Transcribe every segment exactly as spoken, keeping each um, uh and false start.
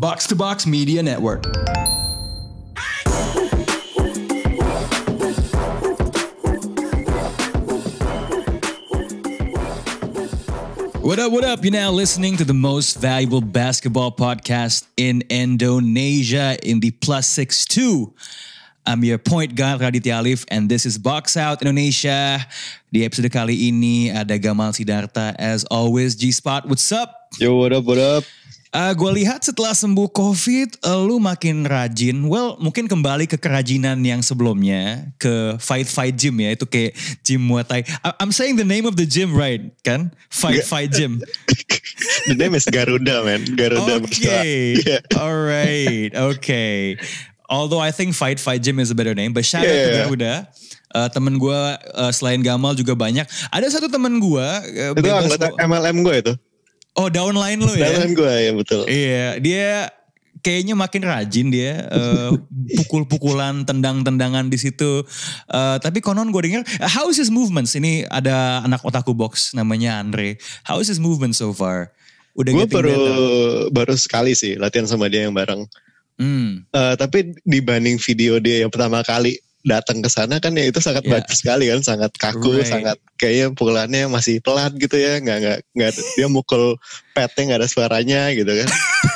Box to Box Media Network. What up, what up? You're now listening to the most valuable basketball podcast in Indonesia in the plus six two. I'm your point guard Raditya Alif and this is Box Out Indonesia. Di episode kali ini ada Gamal Sidarta as always. G-Spot, what's up? Yo, what up, what up? Uh, gue lihat setelah sembuh COVID, uh, lu makin rajin. Well, mungkin kembali ke kerajinan yang sebelumnya, ke Fight Fight Gym ya. Itu kayak gym Muay Thai. I- I'm saying the name of the gym right, kan? Fight Fight Gym. The name is Garuda, man. Garuda. Okay, yeah. Alright, okay. Although I think Fight Fight Gym is a better name, but shout out Yeah. to Garuda. Uh, temen gue uh, selain Gamal juga banyak. Ada satu temen gue. Uh, Itu anggota M L M gue itu. Oh, downline lu ya? Downline gue ya, betul. Iya, dia kayaknya makin rajin dia. Uh, pukul-pukulan, tendang-tendangan di situ. Uh, tapi konon gue dengar, how is his movements? Ini ada anak otaku box namanya Andre. How is his movement so far? Udah Gue getting baru better? baru sekali sih latihan sama dia yang bareng. Hmm. Uh, tapi dibanding video dia yang pertama kali datang ke sana kan ya itu sangat Yeah. bagus sekali kan, sangat kaku, Right. sangat kayaknya pukulannya masih pelan gitu ya, nggak nggak nggak dia mukul petnya nggak ada suaranya gitu kan.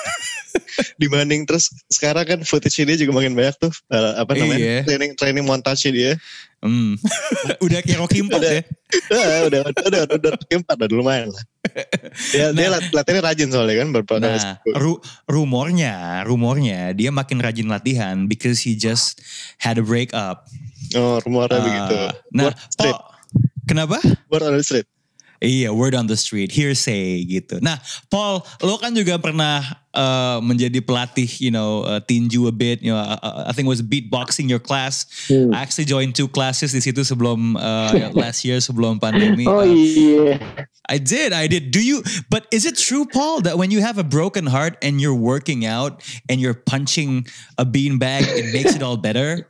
Dibanding terus sekarang kan footage dia juga makin banyak tuh uh, apa namanya Iya. training training montage dia. Hmm. Udah kayak Rocky empat udah, ya? udah, udah, udah, udah, udah, keempat udah lumayan lah. Dia, dia lat- latihannya rajin soalnya kan beberapa kali. Nah, ru- rumornya, rumornya dia makin rajin latihan because he just had a breakup. Oh, rumornya Uh, begitu. Nah, Word straight, Paul, kenapa? word on the street. Iya, word on the street, hearsay gitu. Nah, Paul, lo kan juga pernah uh, menjadi pelatih, you know, uh, tinju a bit. You know, uh, I think it was beatboxing your class. Hmm. I actually joined two classes di situ sebelum uh, last year sebelum pandemi. Oh Uh, iya. I did, I did. Do you? But is it true, Paul, that when you have a broken heart and you're working out and you're punching a beanbag, it makes it all better?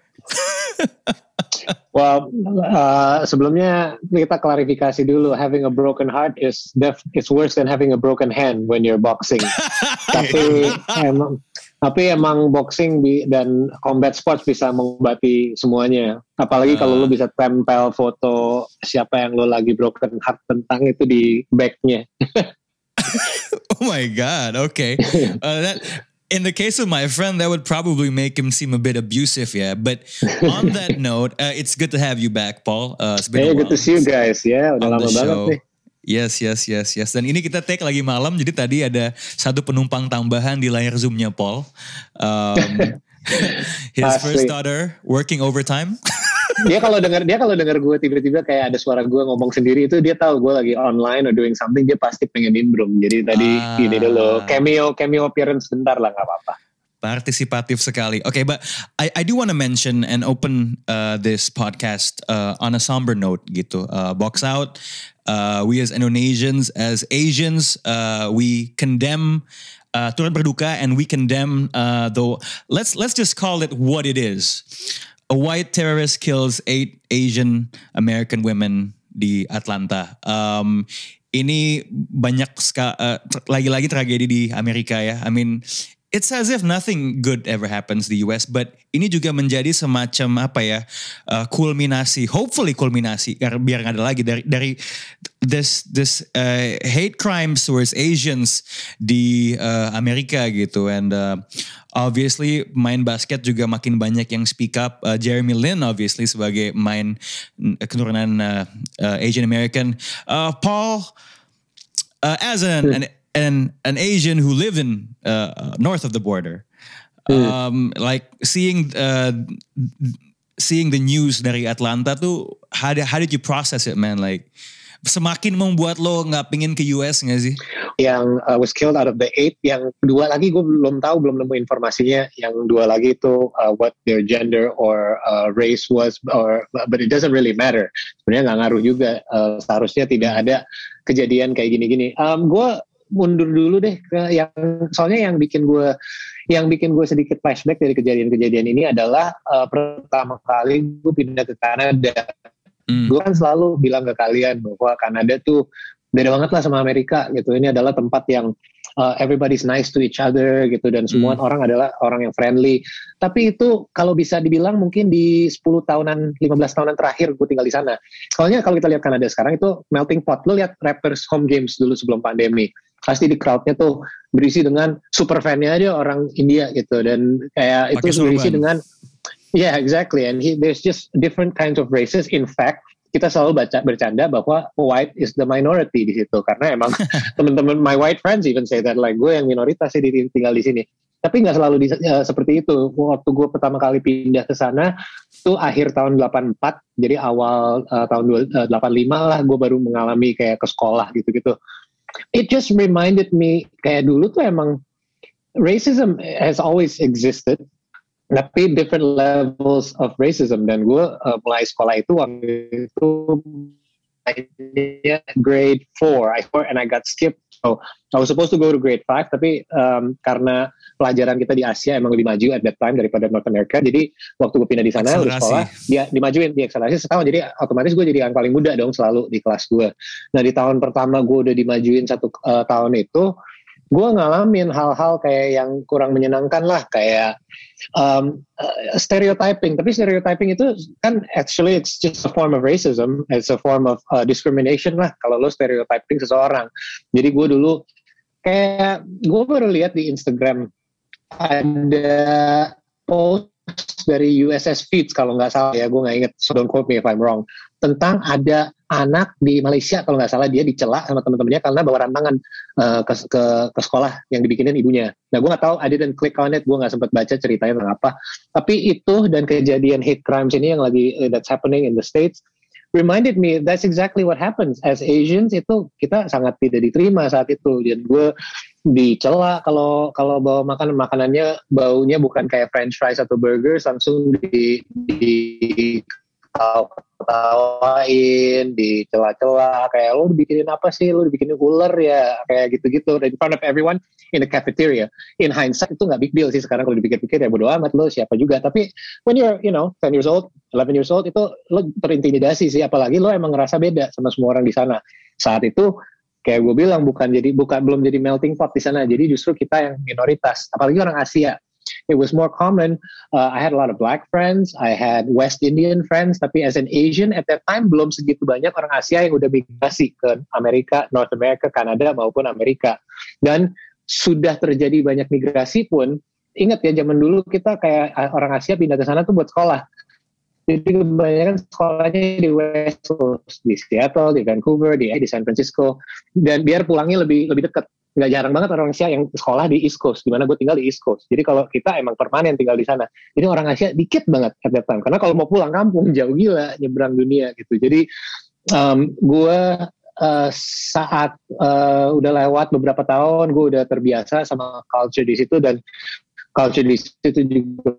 Well, uh, sebelumnya kita klarifikasi dulu. Having a broken heart is def is worse than having a broken hand when you're boxing. tapi emang tapi emang boxing bi- dan combat sports bisa mengobati semuanya. Apalagi kalau Uh. lu bisa tempel foto siapa yang lu lagi broken heart tentang itu di backnya. Oh my God. Okay. Uh, that, in the case of my friend, that would probably make him seem a bit abusive, yeah. But on that note, uh, it's good to have you back, Paul. Uh, it's been Hey, a good while to see you guys. Ya, udah on lama the banget show. nih. Yes, yes, yes, yes. Dan ini kita take lagi malam, jadi tadi ada satu penumpang tambahan di layar Zoom-nya Paul. Um, his Asli. first daughter working overtime. Dia kalau dengar dia kalau dengar gue tiba-tiba kayak ada suara gue ngomong sendiri itu dia tahu gue lagi online or doing something, dia pasti pengen nimbrung. Jadi tadi Ah. gini dulu cameo cameo appearance sebentar lah, nggak apa-apa. Participative sekali. Okay, but I, I do want to mention and open uh, this podcast uh, on a somber note gitu. Uh, box out. Uh, we as Indonesians, as Asians, uh, we condemn uh, turut berduka and we condemn uh, the let's let's just call it what it is. A white terrorist kills eight Asian American women di Atlanta. Um, ini banyak ska, uh, ter- lagi-lagi tragedi di Amerika ya. I mean, it's as if nothing good ever happens di U S, but ini juga menjadi semacam apa ya, uh, kulminasi, hopefully kulminasi, biar biar nggak ada lagi dari dari this this uh, hate crimes towards Asians di uh, Amerika gitu, and uh, obviously main basket juga makin banyak yang speak up. Uh, Jeremy Lin obviously sebagai main uh, keturunan uh, uh, Asian American. Uh, Paul, uh, as an, an an an Asian who lived in uh, north of the border, um, like seeing uh, seeing the news dari Atlanta tuh, how did, how did you process it, man? Like semakin membuat lo nggak pingin ke U S nggak sih? Yang uh, was killed out of the eight, yang dua lagi gue belum tahu, belum nemu informasinya. Yang dua lagi itu uh, what their gender or uh, race was, or but it doesn't really matter. Sebenarnya nggak ngaruh juga. Uh, seharusnya tidak ada kejadian kayak gini-gini. Um, gue mundur dulu deh ke yang soalnya yang bikin gue yang bikin gue sedikit flashback dari kejadian-kejadian ini adalah uh, pertama kali gue pindah ke Kanada. Mm. Gue kan selalu bilang ke kalian bahwa Kanada tuh beda banget lah sama Amerika gitu. Ini adalah tempat yang uh, everybody's nice to each other gitu, dan semua hmm. orang adalah orang yang friendly. Tapi itu kalau bisa dibilang mungkin di sepuluh tahunan, lima belas tahunan terakhir gue tinggal di sana. Soalnya kalau kita lihat Kanada sekarang itu melting pot. Lo lihat Raptors home games dulu sebelum pandemi, pasti di crowdnya tuh berisi dengan super fan-nya aja orang India gitu, dan kayak Pake itu berisi surban. dengan yeah exactly, and he, there's just different kinds of races. In fact, kita selalu baca bercanda bahwa white is the minority di situ, karena emang teman-teman my white friends even say that, like gue yang minoritas sih tinggal di sini. Tapi nggak selalu di, uh, seperti itu. Waktu gue pertama kali pindah ke sana itu akhir tahun delapan puluh empat, jadi awal uh, tahun delapan puluh lima lah gue baru mengalami kayak ke sekolah gitu-gitu. It just reminded me kayak dulu tuh emang racism has always existed, tapi different levels of racism. Dan gue uh, mulai sekolah itu waktu itu grade four, I and I got skipped. So I was supposed to go to grade five, tapi um, karena pelajaran kita di Asia emang lebih maju at that time daripada North America, jadi waktu gue pindah di sana di sekolah, dia dimajuin, diakselerasi setahun, jadi otomatis gue jadi yang paling muda dong selalu di kelas gue. Nah di tahun pertama gue udah dimajuin satu uh, tahun itu, gue ngalamin hal-hal kayak yang kurang menyenangkan lah, kayak um, uh, stereotyping. Tapi stereotyping itu kan actually it's just a form of racism, it's a form of uh, discrimination lah kalau lo stereotyping seseorang. Jadi gue dulu kayak gue baru lihat di Instagram ada post dari U S S Feeds kalau nggak salah ya, gue nggak inget, so don't quote me if I'm wrong, tentang ada anak di Malaysia kalau nggak salah, dia dicela sama teman-temannya karena bawa rantangan uh, ke, ke ke sekolah yang dibikinin ibunya. Nah gue nggak tahu, I didn't click on it, gue nggak sempat baca ceritanya tentang apa. Tapi itu dan kejadian hate crimes ini yang lagi uh, that's happening in the States reminded me that's exactly what happens as Asians. Itu kita sangat tidak diterima saat itu, dan gue dicela kalau kalau bawa makan makanannya baunya bukan kayak French fries atau burgers, langsung di di tawain, dicela-cela kayak lo dibikinin apa sih, lo dibikinin ular ya, kayak gitu-gitu in front of everyone in the cafeteria. In hindsight itu nggak big deal sih sekarang kalau dipikir-pikir, ya bodo amat lo siapa juga. Tapi when you're you know ten years old, eleven years old, itu lo terintimidasi sih, apalagi lo emang ngerasa beda sama semua orang di sana. Saat itu kayak gue bilang bukan jadi bukan belum jadi melting pot di sana, jadi justru kita yang minoritas, apalagi orang Asia. It was more common. Uh, I had a lot of black friends, I had West Indian friends, tapi as an Asian at that time belum segitu banyak orang Asia yang udah migrasi ke Amerika, North America, Kanada maupun Amerika. Dan sudah terjadi banyak migrasi pun, ingat ya zaman dulu kita kayak orang Asia pindah ke sana tuh buat sekolah. Jadi kebanyakan sekolahnya di West Coast, di Seattle, di Vancouver, di, di San Francisco, dan biar pulangnya lebih lebih dekat. Nggak jarang banget orang Asia yang sekolah di East Coast, di mana gue tinggal di East Coast. Jadi kalau kita emang permanen tinggal di sana, jadi orang Asia dikit banget at that time. Karena kalau mau pulang kampung jauh gila, nyebrang dunia gitu. Jadi um, gue uh, saat uh, udah lewat beberapa tahun, gue udah terbiasa sama culture di situ, dan culture di situ juga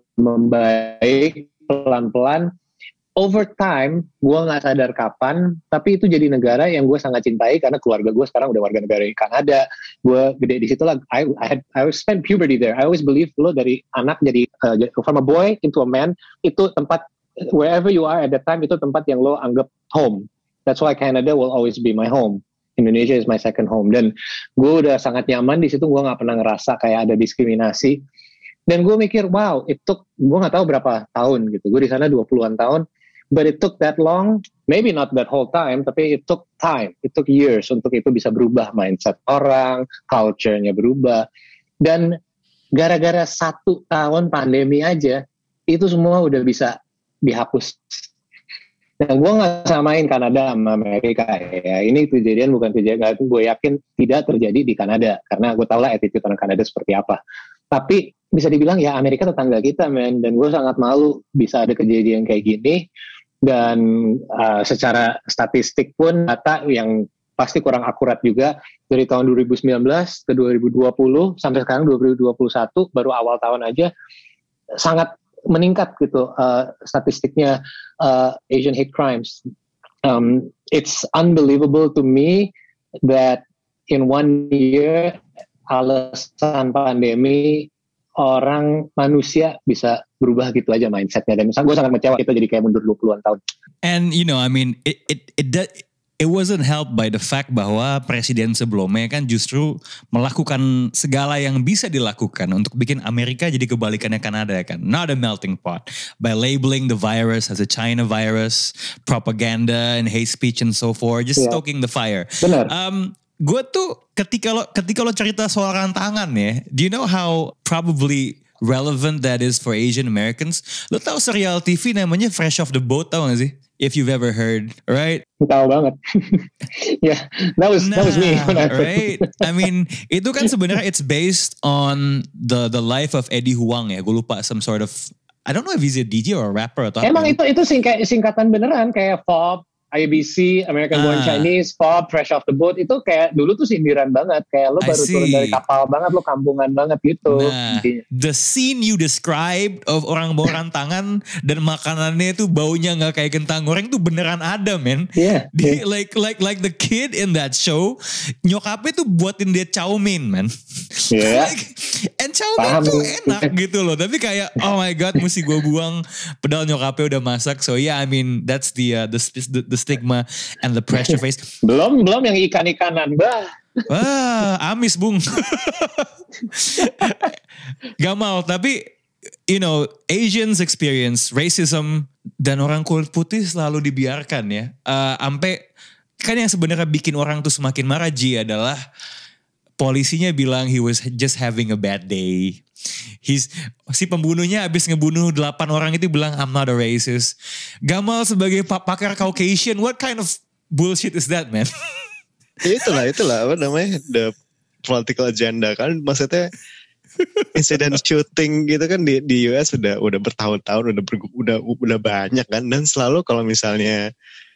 membaik pelan-pelan. Over time, gue nggak sadar kapan, tapi itu jadi negara yang gue sangat cintai karena keluarga gue sekarang udah warga negara di Kanada. Gue gede di situ lah. I, I had I spent puberty there. I always believe lo dari anak jadi uh, from a boy into a man, itu tempat wherever you are at that time, itu tempat yang lo anggap home. That's why Canada will always be my home. Indonesia is my second home. Dan gue udah sangat nyaman di situ. Gue nggak pernah ngerasa kayak ada diskriminasi. Dan gue mikir, wow, itu gue nggak tahu berapa tahun gitu. Gue di sana dua puluhan tahun. But it took that long, maybe not that whole time, tapi it took time, it took years untuk itu bisa berubah mindset orang, culture-nya berubah. Dan gara-gara satu tahun pandemi aja, itu semua udah bisa dihapus. Dan gue gak samain Kanada sama Amerika ya. Ini kejadian bukan kejadian, gue yakin tidak terjadi di Kanada. Karena gue tau lah attitude orang Kanada seperti apa. Tapi bisa dibilang ya Amerika tetangga kita, men. Dan gue sangat malu bisa ada kejadian kayak gini. Dan uh, secara statistik pun data yang pasti kurang akurat juga, dari tahun dua ribu sembilan belas ke dua ribu dua puluh sampai sekarang dua ribu dua puluh satu, baru awal tahun aja sangat meningkat gitu uh, statistiknya uh, Asian hate crimes. Um, it's unbelievable to me that in one year alasan pandemi orang manusia bisa berubah gitu aja mindsetnya, dan misalnya gue sangat kecewa kita jadi kayak mundur dua puluhan tahun. And you know, I mean, it it it does, it wasn't helped by the fact bahwa presiden sebelumnya kan justru melakukan segala yang bisa dilakukan untuk bikin Amerika jadi kebalikannya Kanada kan. Not a melting pot. By labeling the virus as a China virus, propaganda and hate speech and so forth, just yeah. stoking the fire. Benar. Um, gue tuh ketika lo ketika lo cerita soal rantangan ya, do you know how probably relevant that is for Asian Americans? Lo tahu serial T V namanya Fresh Off the Boat, tahu gak sih? If you've ever heard, right? Tahu banget. Yeah, that was nah, that was me. When I right? I mean, itu kan sebenarnya it's based on the the life of Eddie Huang ya. Gue lupa some sort of, I don't know if he's a D J or a rapper atau Emang apa. itu itu singkat, singkatan beneran kayak F O B, I B C, American Born ah. Chinese, F O B, Fresh Off the Boat, itu kayak dulu tuh sindiran banget, kayak lo baru turun dari kapal banget, lo kampungan banget gitu. Nah, the scene you described of orang bawa rantangan dan makanannya tuh baunya nggak kayak kentang goreng tuh beneran ada, men. Yeah, Di, yeah. Like like like the kid in that show, nyokapnya tuh buatin dia chow mein, man. Yeah. Like, and chow mein tuh enak gitu loh, tapi kayak oh my god, mesti gue buang, padahal nyokapnya udah masak. So yeah, I mean that's the uh, the, the, the stigma and the pressure face. belum belum yang ikan-ikanan, bah. Wah, amis bung. Gamal, tapi you know Asians experience racism dan orang kulit putih selalu dibiarkan ya. Uh, ampe kan yang sebenarnya bikin orang tuh semakin marah Ji adalah polisinya bilang he was just having a bad day. He's, si pembunuhnya abis ngebunuh delapan orang itu bilang I'm not a racist. Gamal sebagai pakar Caucasian, what kind of bullshit is that, man? itulah itulah apa namanya the political agenda kan, maksudnya insiden shooting gitu kan di di U S udah udah bertahun-tahun, udah ber, udah udah banyak kan, dan selalu kalau misalnya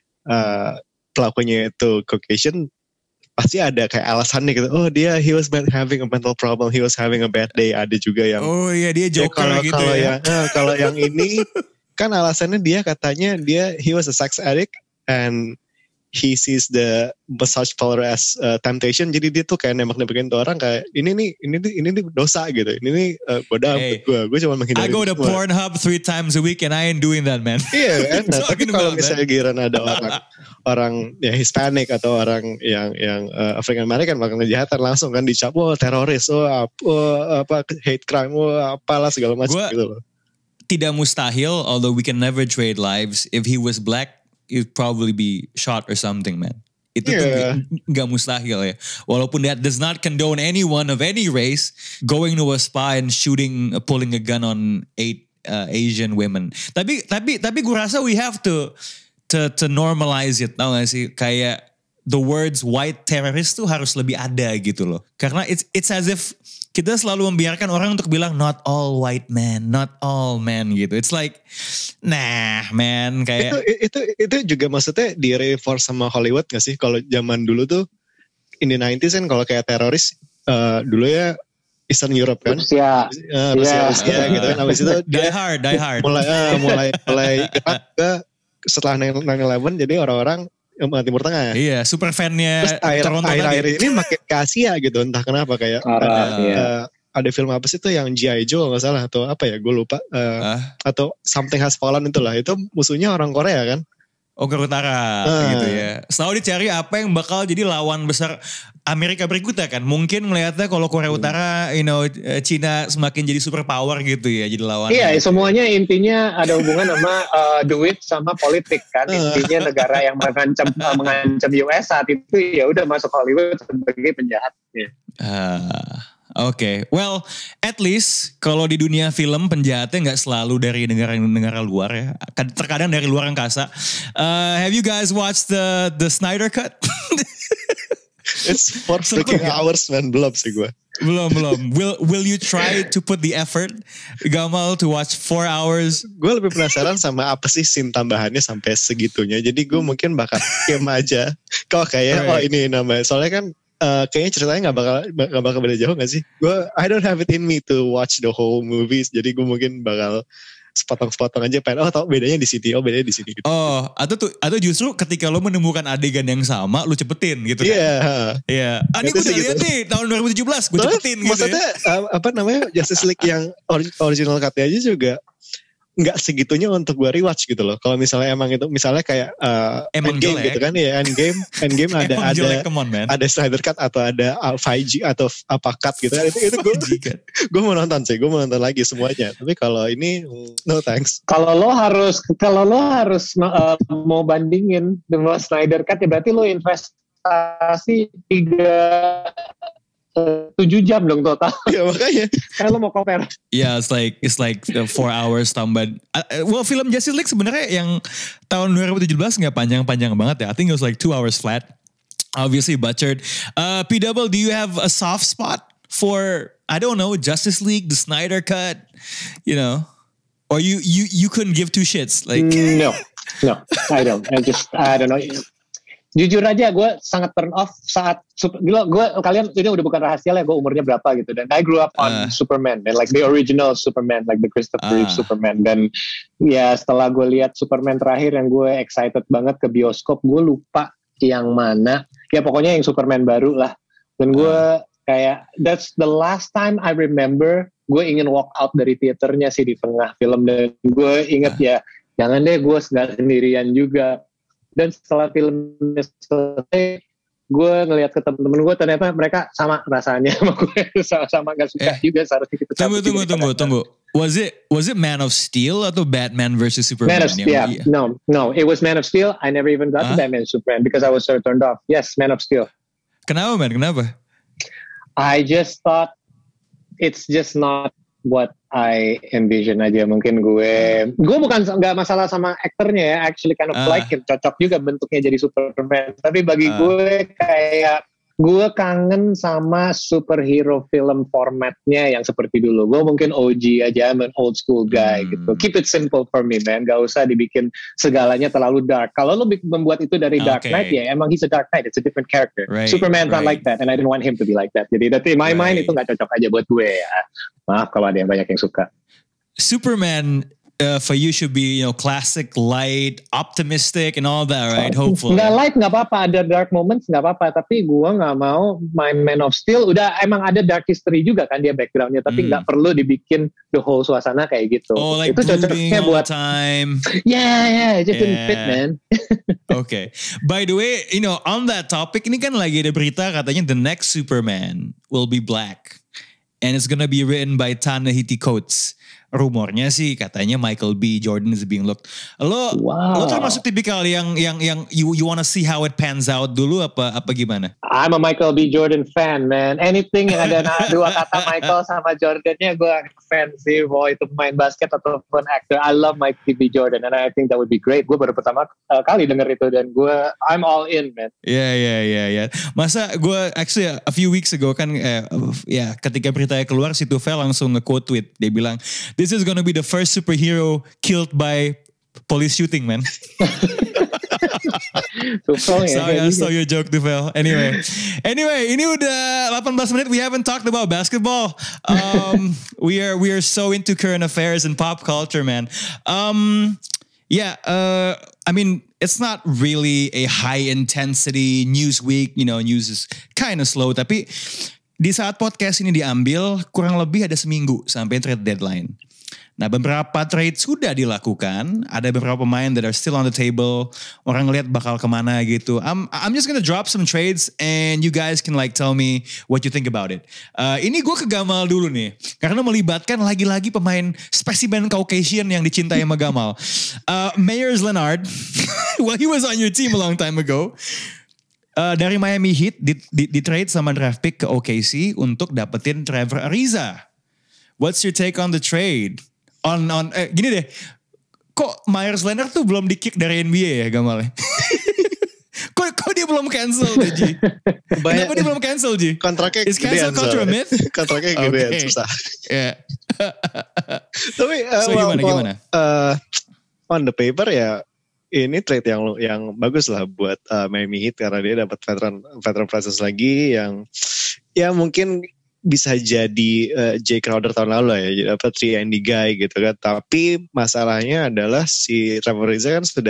uh, pelakunya itu Caucasian pasti ada kayak alasannya gitu. Oh dia he was having a mental problem, he was having a bad day. Ada juga yang oh iya dia joker ya, kalau, gitu kalau ya. Yang, nah, kalau yang ini kan alasannya dia katanya dia he was a sex addict and he sees the massage parlor as uh, temptation. Jadi dia tuh kayak nembak-nembakin tuh orang kayak ini nih ini nih ini nih dosa gitu. Ini nih uh, bodoh hey, gue gue cuma menghindari. I go to Pornhub three times a week and I ain't doing that, man. Iya, enak. Tapi kalau misalnya giran ada orang orang ya Hispanic atau orang yang yang uh, African American melakukan kejahatan langsung kan dicap, oh teroris, oh apa, oh, apa hate crime, oh apalah segala macam gitu loh. Tidak mustahil, although we can never trade lives. If he was black, he'd probably be shot or something, man. Itu yeah. tuh gak mustahil ya. Walaupun that does not condone anyone of any race going to a spa and shooting, uh, pulling a gun on eight uh, Asian women. Tapi tapi tapi gue rasa we have to to to normalize it, tau gak sih? Kayak the words white terrorist tuh harus lebih ada gitu loh. Karena it's it's as if kita selalu membiarkan orang untuk bilang not all white men, not all men gitu. It's like, nah man kayak. Itu, itu, itu juga maksudnya di reinforce sama Hollywood gak sih? Kalau zaman dulu tuh, in the nineties kan kalau kayak teroris, uh, dulu ya Eastern Europe kan. Rusia. Uh, Rusia, yeah. Rusia uh, gitu kan. Habis itu die hard, die hard. Mulai, uh, mulai, mulai gerak ke setelah nine eleven jadi orang-orang Timur Tengah. Iya, super fan-nya. Terus air, air, air ini makin ke Asia gitu, entah kenapa kayak Arah, ada, iya. uh, ada film apa sih itu yang G I Joe nggak salah atau apa ya, gue lupa. Uh, uh. Atau Something Has Fallen itulah, itu musuhnya orang Korea kan? Oh Korea Utara uh. gitu ya. Selalu dicari apa yang bakal jadi lawan besar Amerika berikutnya kan. Mungkin ngelihatnya kalau Korea Utara, you know, Cina semakin jadi super power gitu ya, jadi lawan. Iya, gitu. Semuanya intinya ada hubungan sama uh, duit sama politik kan. Intinya negara yang mengancam uh, mengancam U S saat itu ya udah masuk Hollywood sebagai penjahatnya. Uh. Oke, okay. Well, at least kalau di dunia film penjahatnya nggak selalu dari negara-negara luar ya, terkadang dari luar angkasa. Uh, have you guys watched the the Snyder Cut? It's four freaking hours man, belum sih gue. Belum belum. Will Will you try to put the effort, Gamal, to watch four hours? Gue lebih penasaran sama apa sih scene tambahannya sampai segitunya. Jadi gue mungkin bakal game aja. Kalau kayak right. Oh ini namanya, soalnya kan. Uh, kayaknya ceritanya gak bakal gak bakal beda jauh gak sih? Gue I don't have it in me to watch the whole movies. Jadi gue mungkin bakal sepotong-sepotong aja. Pengen, oh tau bedanya di sini, oh bedanya di sini. Gitu. Oh, atau tuh, atau justru ketika lo menemukan adegan yang sama, lo cepetin gitu kan? Iya. Yeah. Iya. Yeah. Ah ini gue udah liat nih tahun dua ribu tujuh belas, gue cepetin gitu. Maksudnya ya. uh, apa namanya Justice League yang original cut-nya aja juga nggak segitunya untuk gue rewatch gitu loh. Kalau misalnya emang itu, misalnya kayak uh, Endgame gitu kan ya, Endgame, Endgame ada ada jelek, on, ada Snyder Cut atau ada five G atau apa cut gitu. Itu itu gue gue mau nonton sih, gue mau nonton lagi semuanya. Tapi kalau ini no thanks. Kalau lo harus kalau lo harus uh, mau bandingin dengan Snyder Cut ya berarti lo investasi tiga tujuh jam dong total. Ya makanya. Kalau mau compare. Yeah, it's like it's like four hours tambah. Uh, well, film Justice League sebenarnya yang tahun dua ribu tujuh belas nggak panjang-panjang banget ya. I think it was like two hours flat. Obviously butchered. Uh, P Double, do you have a soft spot for, I don't know, Justice League, the Snyder Cut, you know, or you you you couldn't give two shits like? No, no, I don't. I just I don't know. Jujur aja gue sangat turn off saat gue, gue kalian ini udah bukan rahasia lah gue umurnya berapa gitu, dan I grew up on uh. Superman dan like the original Superman, like the Christopher Reeve uh. Superman, dan ya setelah gue lihat Superman terakhir yang gue excited banget ke bioskop, gue lupa yang mana ya, pokoknya yang Superman baru lah, dan gue uh. kayak that's the last time I remember gue ingin walk out dari teaternya sih di tengah film, dan gue inget uh. ya jangan deh gue nggak sendirian juga. Dan setelah filmnya selesai, gue ngelihat ke temen-temen gue, ternyata mereka sama rasanya sama gue, sama-sama gak suka eh, juga seharusnya kita. Tunggu, tunggu, tunggu, tunggu. Was it was it Man of Steel atau Batman versus Superman? Man of Steel, yeah. no, no, it was Man of Steel. I never even got huh? to Batman and Superman because I was so turned off. Yes, Man of Steel. Kenapa, man? Kenapa? I just thought it's just not what I envision aja. Mungkin gue gue bukan nggak masalah sama aktornya ya, actually kind of uh. like him, cocok juga bentuknya jadi Superman, tapi bagi uh. gue kayak gue kangen sama superhero film formatnya yang seperti dulu. Gue mungkin O G aja, I'm an old school guy hmm. gitu. Keep it simple for me, man. Gak usah dibikin segalanya terlalu dark. Kalau lo membuat itu dari Dark okay. Knight, ya emang he's a Dark Knight. It's a different character. Right, Superman's right. not like that, and I didn't want him to be like that. Jadi in my right. mind itu gak cocok aja buat gue ya. Maaf kalau ada yang banyak yang suka. Superman uh, for you should be, you know, classic, light, optimistic, and all that, right? Hopefully. Nggak light, nggak apa-apa. Ada dark moments, nggak apa-apa. Tapi gue nggak mau main Man of Steel. Udah emang ada dark history juga kan dia backgroundnya. Tapi nggak mm. perlu dibikin the whole suasana kayak gitu. Oh, like itu cocoknya buat time. Yeah, yeah. It just yeah. didn't fit, man. Okay. By the way, you know, on that topic, ini kan lagi ada berita katanya the next Superman will be black. And it's gonna be written by Ta-Nehisi Coates. Rumornya sih katanya Michael B. Jordan is being looked. Lo, wow. lo termasuk tipikal yang yang yang you you wanna see how it pans out dulu apa apa gimana? I'm a Michael B. Jordan fan, man. Anything yang ada dua kata Michael sama Jordannya gue fan sih. Mau itu main basket ataupun actor. I love Michael B. Jordan and I think that would be great. Gue baru pertama uh, kali denger itu dan gue I'm all in, man. Yeah, yeah, yeah, yeah. Masa gue actually a few weeks ago kan, eh, ya ketika beritanya keluar si Tufel langsung nge-quote tweet. Dia bilang, this is gonna be the first superhero killed by police shooting, man. Tufel ya. Sorry, I saw your joke, Tufel. Anyway, anyway, ini udah eighteen menit. We haven't talked about basketball. Um, we are we are so into current affairs and pop culture, man. Um, yeah, uh, I mean, it's not really a high intensity news week. You know, news is kind of slow. Tapi di saat podcast ini diambil, kurang lebih ada seminggu sampai trade deadline. Nah, beberapa trade sudah dilakukan. Ada beberapa pemain that are still on the table. Orang ngeliat bakal kemana gitu. I'm I'm just gonna drop some trades and you guys can like tell me what you think about it. Uh, ini gue ke Gamal dulu nih. Karena melibatkan lagi-lagi pemain spesimen Caucasian yang dicintai sama Gamal. Uh, Meyers Leonard. Well, he was on your team a long time ago. Uh, dari Miami Heat di, di, di trade sama draft pick ke O K C untuk dapetin Trevor Ariza. What's your take on the trade? On on eh, gini deh, kok Meyers Leonard tuh belum di kick dari N B A ya Gamal? kok kok dia belum cancel deh, Ji? Kenapa dia belum cancel, Ji? Kontraknya is cancel culture a myth? Kontraknya gedean, okay. Susah. Yeah. Tapi uh, so well, gimana gimana? Uh, on the paper ya ini trade yang yang bagus lah buat uh, Miami Heat karena dia dapat veteran veteran presence lagi yang ya mungkin bisa jadi uh, Jay Crowder tahun lalu ya, jadi dapat three and D guy gitu kan. Tapi masalahnya adalah si Trevor Ariza kan sudah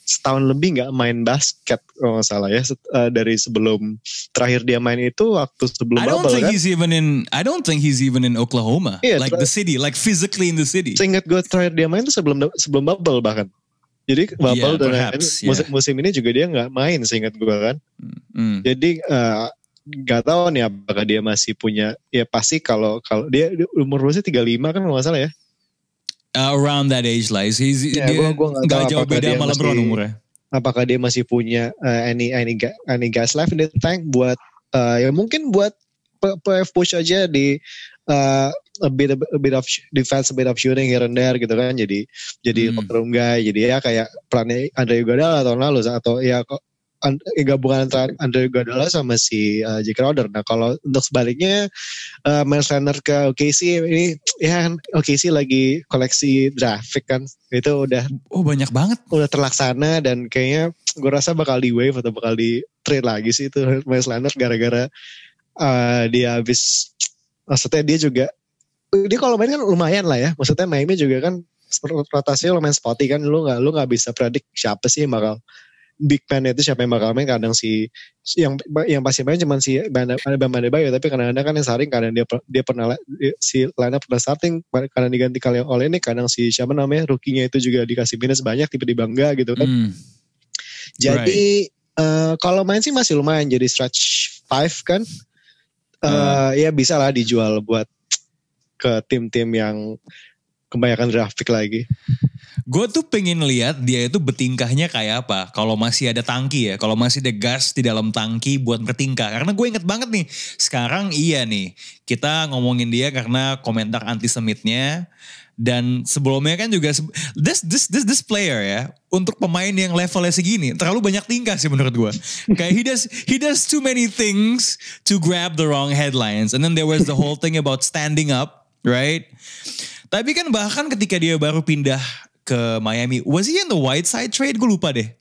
setahun lebih nggak main basket kalau nggak salah ya. Uh, dari sebelum terakhir dia main itu waktu sebelum I don't bubble think kan. he's even in. I don't think he's even in Oklahoma, Iya, like the city, like physically in the city. Seingat gue terakhir dia main itu sebelum sebelum bubble bahkan. Jadi bubble Yeah, dan perhaps, ini, musim, yeah. musim ini juga dia nggak main seingat gue kan. Mm. Jadi nggak uh, tahu nih apakah dia masih punya, ya pasti kalau kalau dia umur berapa sih tiga puluh lima kan kalau nggak salah ya. Uh, around that age lah, he's, Ya, dia gua- gua nggak nggak tahu jauh apakah beda dia sama masih- LeBron umurnya. Apakah dia masih punya uh, any any ga- any gas left in the tank buat uh, ya mungkin buat p- p- push aja di uh, a bit a bit of defense, a bit of shooting here and there gitu kan. Jadi jadi Hmm. locker room guy. Jadi ya kayak perannya Andre Iguodala tahun lalu atau ya kok an- eh, gabungan antara Andre Iguodala sama si uh, Jake Crowder. Nah kalau untuk sebaliknya uh, Miles Leonard ke O K C ini ya kan O K C lagi koleksi draft pick kan, itu udah Oh banyak banget. udah terlaksana dan kayaknya gue rasa bakal di wave atau bakal di trade lagi sih itu Miles Leonard gara-gara uh, dia habis, maksudnya dia juga dia kalau main kan lumayan lah ya, maksudnya Miami juga kan rotasinya lumayan spotty kan, lu nggak lu nggak bisa predik siapa sih yang bakal big man itu, siapa yang bakal main. Kadang si yang yang pasti main cuma si Bam Adebayo, tapi kadang-kadang kan yang starting kadang dia dia pernah si Lana pernah starting, kadang diganti kali oleh ini, kadang si siapa namanya rookie-nya itu juga dikasih minus banyak tiba-tiba enggak gitu kan. Hmm. Jadi uh, kalau main sih masih lumayan jadi stretch five kan. Uh, Ya bisa lah dijual buat ke tim-tim yang kebanyakan draft pick lagi. Gue tuh pengen lihat dia itu bertingkahnya kayak apa. Kalau masih ada tangki ya, kalau masih ada gas di dalam tangki buat bertingkah. Karena gue inget banget nih, sekarang iya nih, kita ngomongin dia karena komentar antisemitnya. Dan sebelumnya kan juga this this this this player ya, untuk pemain yang levelnya segini terlalu banyak tingkah sih menurut gue. Kayak he does he does too many things to grab the wrong headlines. And then there was the whole thing about standing up, right? Tapi kan bahkan ketika dia baru pindah ke Miami, was he in the Whiteside trade? Gue lupa deh.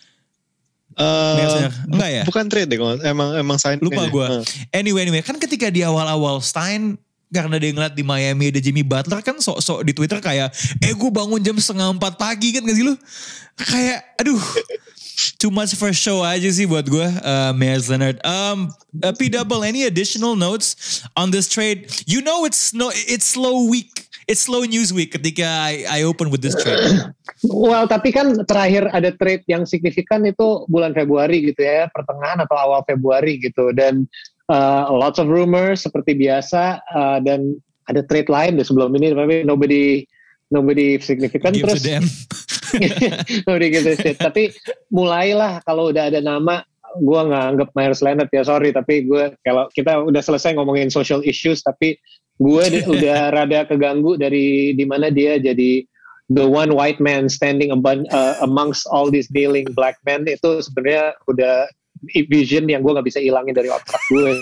Uh, Enggak ya? Bukan trade deh, emang emang sign. Lupa aja. gue. Uh. Anyway, anyway, kan ketika di awal-awal Stein, karena dia ngeliat di Miami ada Jimmy Butler kan sok-sok di Twitter kayak, eh gue bangun jam setengah empat pagi kan gak sih lu? Kayak, aduh, too much for show aja sih buat gue, uh, Myers Leonard. Um, uh, P Double, any additional notes on this trade? You know it's no, it's slow week. It's slow news week ketika I, I open with this trade. Well, tapi kan terakhir ada trade yang signifikan itu bulan Februari gitu ya, pertengahan atau awal Februari gitu. Dan uh, lots of rumors seperti biasa, uh, dan ada trade lain deh sebelum ini, tapi nobody nobody signifikan. Gives Terus a damn. nobody gives a shit. Tapi mulailah kalau udah ada nama, gue nggak anggap Myers Leonard ya, sorry, tapi gue kalau kita udah selesai ngomongin social issues, tapi gue udah rada keganggu dari di mana dia jadi the one white man standing abun, uh, amongst all these kneeling black men. Itu sebenarnya udah vision yang gue nggak bisa hilangin dari otak gue.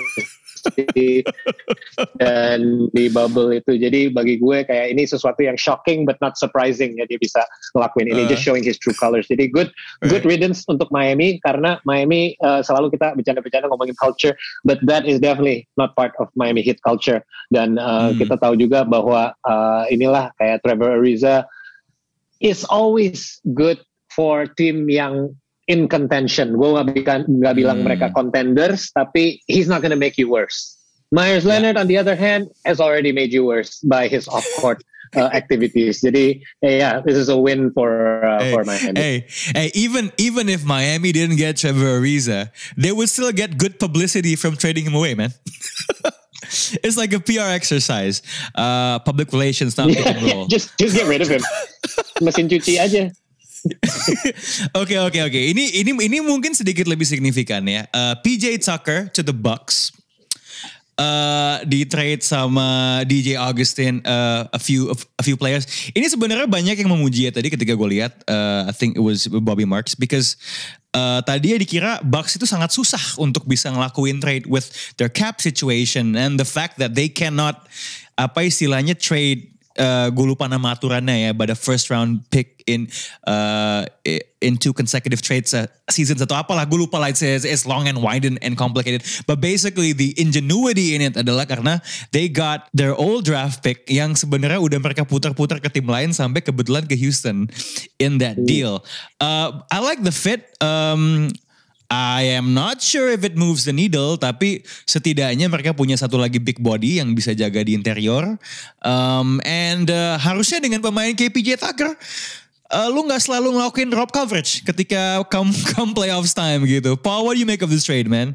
Dan di bubble itu, jadi bagi gue kayak ini sesuatu yang shocking but not surprising ya, dia bisa ngelakuin ini, uh, just showing his true colors. Jadi good right. good riddance untuk Miami, karena Miami uh, selalu kita bercanda-bercanda ngomongin culture, but that is definitely not part of Miami Heat culture. Dan uh, hmm. kita tahu juga bahwa uh, inilah kayak Trevor Ariza is always good for tim yang in contention. Gue gak, gak bilang hmm. mereka contenders, tapi he's not gonna make you worse. Myers Leonard, yeah. on the other hand, has already made you worse by his off-court uh, activities. Jadi, yeah, this is a win for uh, hey, for Miami. Hey, hey, even even if Miami didn't get Trevor Ariza, they would still get good publicity from trading him away, man. It's like a P R exercise, uh, public relations, not yeah, pick and roll. just just get rid of him. Mesin cuci aja. Oke oke oke. Ini ini ini mungkin sedikit lebih signifikan ya. Uh, P J Tucker to the Bucks. Uh, di trade sama D J Augustin, uh, a few a few players. Ini sebenarnya banyak yang memuji ya tadi ketika gue lihat. Uh, I think it was Bobby Marks because uh, tadi ya dikira Bucks itu sangat susah untuk bisa ngelakuin trade with their cap situation and the fact that they cannot apa istilahnya trade uh, gue lupa nama aturannya ya, but a first round pick in uh, in two consecutive trades uh, seasons atau apalah, gue lupa lah, it's, it's long and wide and, and complicated. But basically the ingenuity in it adalah karena they got their old draft pick yang sebenarnya udah mereka putar-putar ke tim lain sampai kebetulan ke Houston in that deal. Uh, I like the fit. Um, I am not sure if it moves the needle, tapi setidaknya mereka punya satu lagi big body yang bisa jaga di interior. Um, and uh, harusnya dengan pemain K P J Tucker, uh, lu gak selalu ngelakuin drop coverage ketika come, come playoffs time gitu. Paul, what do you make of this trade, man?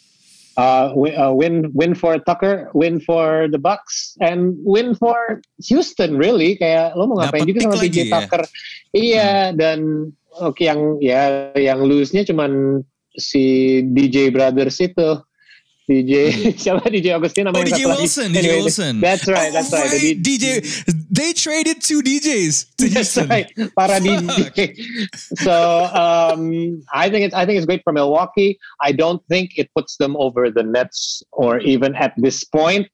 Uh, win, uh, win, win for Tucker, win for the Bucks, and win for Houston. Really, kayak lo mau ngapain juga sama P J Tucker? Ya? Iya, hmm. dan oke okay, yang ya yang lose-nya cuman si D J Brothers itu, D J siapa D J Augustine namanya? Oh, D J Wilson, D J anyway, Wilson. That's right, that's oh, right. right. D J, they traded two D Js to That's Houston. right, para D J. So um, I think it's I think it's great for Milwaukee. I don't think it puts them over the Nets, or even at this point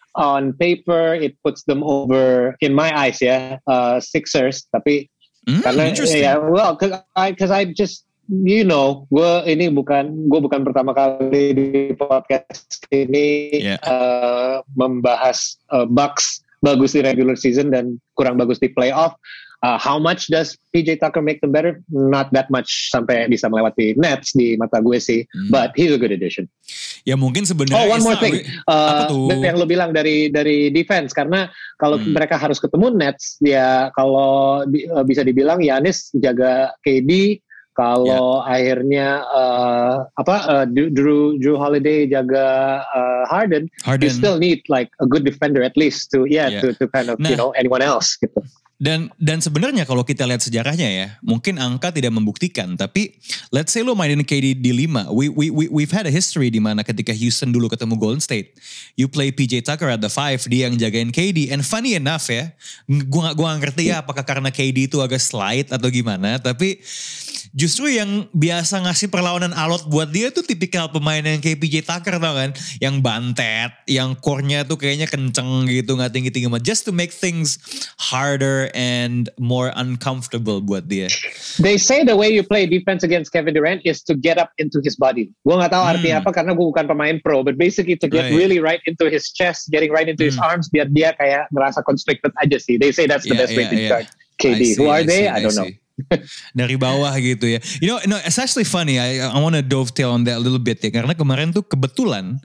on paper it puts them over, in my eyes, yeah, uh, Sixers. Tapi mm, karena yeah, well, because I because I just you know, gue ini bukan gue bukan pertama kali di podcast ini yeah. uh, membahas uh, Bucks bagus di regular season dan kurang bagus di playoff. Uh, how much does P J Tucker make them better? Not that much sampai bisa melewati Nets di mata gue sih, hmm. but he's a good addition. Ya mungkin sebenarnya. Oh, one more thing, uh, yang lo bilang dari dari defense, karena kalau hmm. mereka harus ketemu Nets, ya kalau di, uh, bisa dibilang Giannis jaga K D. Kalau yeah. akhirnya uh, apa uh, Drew Drew Holiday jaga uh, Harden, Harden, you still need like a good defender at least to yeah, yeah. to to kind of nah, you know anyone else gitu. Dan dan sebenarnya kalau kita lihat sejarahnya ya, mungkin angka tidak membuktikan, tapi let's say lo mainin K D di lima. We we we we've had a history di mana ketika Houston dulu ketemu Golden State, you play P J Tucker at the five, dia yang jagain K D. And funny enough ya, gua gak, gua gak ngerti ya apakah karena K D itu agak slide atau gimana, tapi justru yang biasa ngasih perlawanan alot buat dia tuh tipikal pemain yang kayak P J Tucker, tau kan? Yang bantet, yang core-nya tuh kayaknya kenceng gitu, gak tinggi-tinggi banget. Just to make things harder and more uncomfortable buat dia. They say the way you play defense against Kevin Durant is to get up into his body. Gue gak tahu artinya hmm. apa karena gue bukan pemain pro, but basically to get right. really right into his chest, getting right into hmm. his arms, biar dia kayak ngerasa constricted aja sih. They say that's the yeah, best yeah, way to yeah. guard K D. See, Who are I they? See, I don't I know. Dari bawah gitu ya. You know, no, it's actually funny. I, I want to dovetail on that a little bit ya. Karena kemarin tuh kebetulan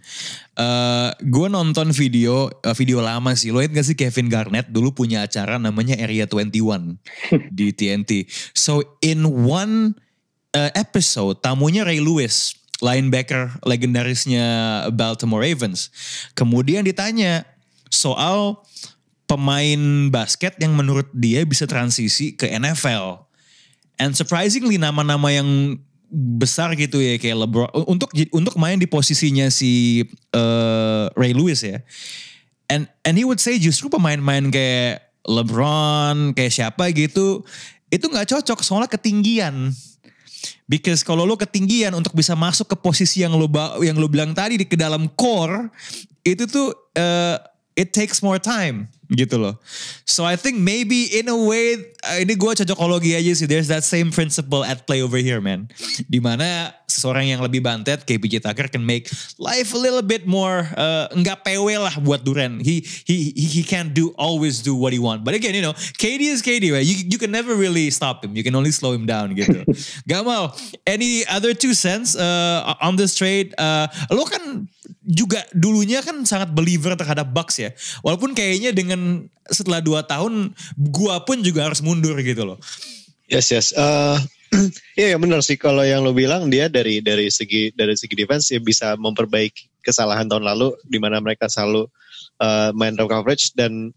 uh, gue nonton video uh, video lama sih. Lo ingat gak sih Kevin Garnett dulu punya acara namanya Area twenty-one di T N T. So in one uh, episode tamunya Ray Lewis, linebacker legendarisnya Baltimore Ravens. Kemudian ditanya soal pemain basket yang menurut dia bisa transisi ke N F L. And surprisingly nama-nama yang besar gitu ya kayak LeBron untuk untuk main di posisinya si uh, Ray Lewis ya. And and he would say justru pemain-pemain kayak LeBron, kayak siapa gitu, itu nggak cocok soalnya ketinggian. Because kalau lo ketinggian untuk bisa masuk ke posisi yang lo yang lo bilang tadi di ke dalam core, itu tuh uh, it takes more time. Gitu loh. So I think maybe in a way, uh, ini gue cocokologi aja sih. There's that same principle at play over here, man. Dimana seseorang yang lebih bantet, kayak P J Tucker can make life a little bit more, uh, nggak P W lah buat Durant. He he he can't do always do what he want. But again, you know, K D is K D, right? You you can never really stop him. You can only slow him down gitu. Gamal, any other two cents uh, on this trade? Uh, lo kan juga dulunya kan sangat believer terhadap Bucks ya. Walaupun kayaknya dengan setelah dua tahun gua pun juga harus mundur gitu loh. Yes yes. Uh, Iya ya benar sih kalau yang lo bilang dia dari dari segi dari segi defense ya bisa memperbaiki kesalahan tahun lalu di mana mereka selalu uh, main drop coverage, dan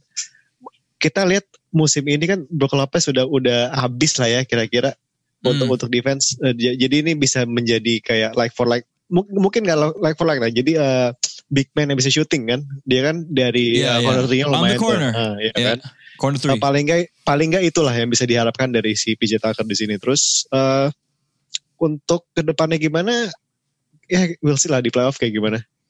kita lihat musim ini kan Brook Lopez sudah udah habis lah ya kira-kira hmm. untuk untuk defense. Uh, jadi ini bisa menjadi kayak like for like, M- mungkin nggak like for like lah. Jadi uh, big man yang bisa shooting kan, dia kan dari yeah, uh, yeah. corner three-nya lumayan. On the corner, uh, ya yeah. kan. Corner three. Uh, paling nggak paling nggak itulah yang bisa diharapkan dari si P J Tucker di sini. Terus uh, untuk kedepannya gimana? Ya we'll see lah di playoff kayak gimana.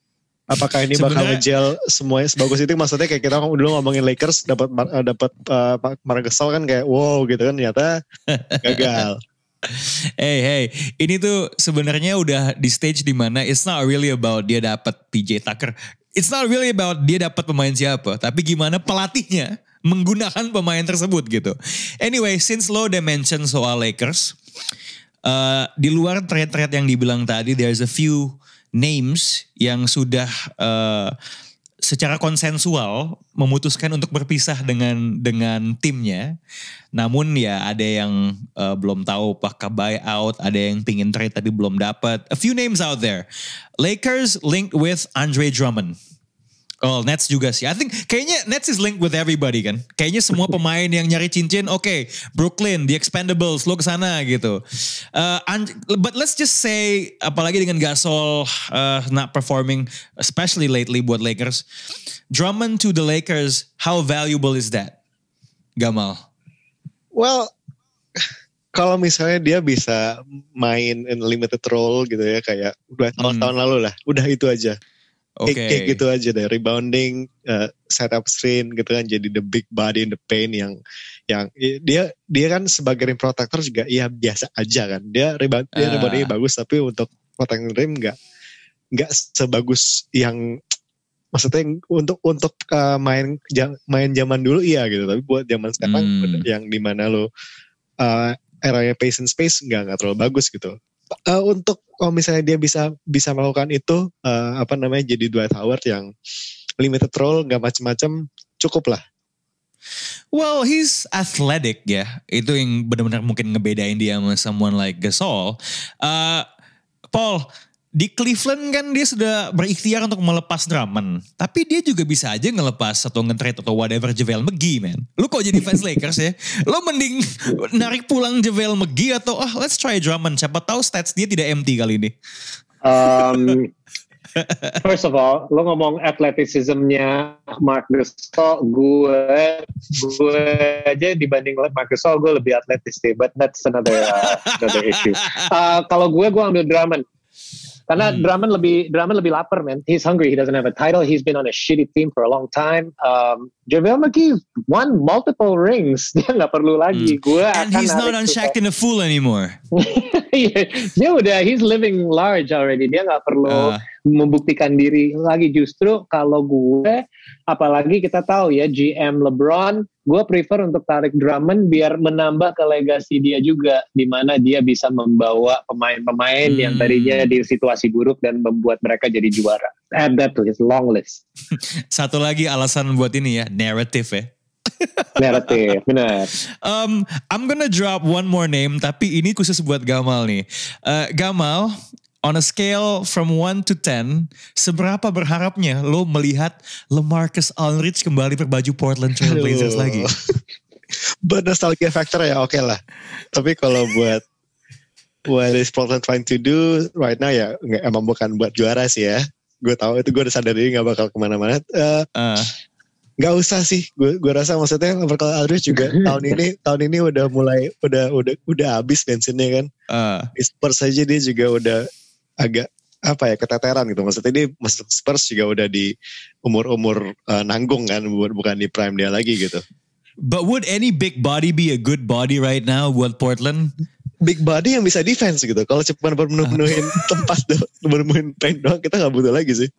Apakah ini bakal ngejel semuanya sebagus itu? Maksudnya kayak kita dulu ngomongin Lakers dapat dapat uh, Marc Gasol kan kayak wow gitu kan, ternyata gagal. Hey hey, ini tuh sebenarnya udah di stage dimana it's not really about dia dapat P J Tucker, it's not really about dia dapat pemain siapa, tapi gimana pelatihnya menggunakan pemain tersebut gitu. Anyway, since lo udah mention soal Lakers, uh, di luar trade-trade yang dibilang tadi, there's a few names yang sudah uh, secara konsensual memutuskan untuk berpisah dengan dengan timnya. Namun ya ada yang uh, belum tahu apakah buyout, ada yang pingin trade tapi belum dapat. A few names out there. Lakers linked with Andre Drummond. Oh, Nets juga sih. I think kayaknya Nets is linked with everybody kan. Kayaknya semua pemain yang nyari cincin, oke, okay, Brooklyn, the Expendables, lo kesana gitu. Uh, but let's just say, apalagi dengan Gasol uh, not performing, especially lately buat Lakers. Drummond to the Lakers, how valuable is that, Gamal? Well, kalau misalnya dia bisa main in limited role gitu ya, kayak dua tahun-tahun hmm. lalu lah, udah itu aja. Okay. Kayak gitu aja deh, rebounding, uh, set up screen gitu kan, jadi the big body in the paint yang yang dia dia kan sebagai rim protector juga ya biasa aja kan, dia rebound uh. dia reboundingnya bagus, tapi untuk protecting rim nggak nggak sebagus yang maksudnya untuk untuk uh, main main zaman dulu iya gitu, tapi buat zaman sekarang hmm. yang dimana lo uh, eranya pace and space nggak nggak terlalu bagus gitu. Uh, untuk kalau misalnya dia bisa bisa melakukan itu uh, apa namanya jadi Dwight Howard yang limited role nggak macam-macam, cukup lah. Well, he's athletic ya, itu yang benar-benar mungkin ngebedain dia sama someone like Gasol. Uh, Paul, di Cleveland kan dia sudah berikhtiar untuk melepas Drummond, tapi dia juga bisa aja ngelepas atau nge-trade atau whatever JaVale McGee, man. Lu kok jadi fans Lakers ya? Lu mending narik pulang JaVale McGee atau oh let's try Drummond, siapa tahu stats dia tidak empty kali ini. Um, first of all, lo ngomong athleticism-nya Marc Gasol, gue gue aja dibanding Marc Gasol gue lebih atletis deh, but that's another uh, another issue. Uh, kalau gue gue ambil Drummond. Karena hmm. Drummond lebih Drummond lebih lapar, man. He's hungry. He doesn't have a title. He's been on a shitty team for a long time. Um, JaVale McGee won multiple rings. Dia nggak perlu lagi. Hmm. Gua And he's not on Shaqtin' a Fool anymore. Dia udah he's living large already. Dia nggak perlu uh. membuktikan diri lagi. Justru kalau gue, apalagi kita tahu ya G M LeBron, gue prefer untuk tarik Drummond biar menambah ke legasi dia juga, di mana dia bisa membawa pemain-pemain hmm. yang tadinya di situasi buruk dan membuat mereka jadi juara. Add that to his long list. Satu lagi alasan buat ini ya, narrative ya. Narrative, benar. Um, I'm gonna drop one more name, tapi ini khusus buat Gamal nih. Uh, Gamal, on a scale from one to ten, seberapa berharapnya lo melihat LaMarcus Aldridge kembali berbaju Portland Trail Blazers lagi? Buat nostalgia factor ya oke okay lah. Tapi kalau buat what is Portland trying to do right now ya nggak, emang bukan buat juara sih ya. Gue tahu itu, gue udah sadar diri gak bakal kemana-mana. Uh, uh. Gak usah sih, gue gue rasa maksudnya LaMarcus Aldridge juga tahun ini tahun ini udah mulai udah udah udah habis bensinnya kan. Uh. Di Spurs aja dia juga udah agak apa ya keteteran gitu, maksudnya dia masuk Spurs juga udah di umur-umur uh, nanggung kan, bukan di prime dia lagi gitu. But would any big body be a good body right now buat Portland? Big body yang bisa defense gitu. Kalau cuma penuh-penuhin tempat doang, penuh-penuhin paint doang, kita nggak butuh lagi sih.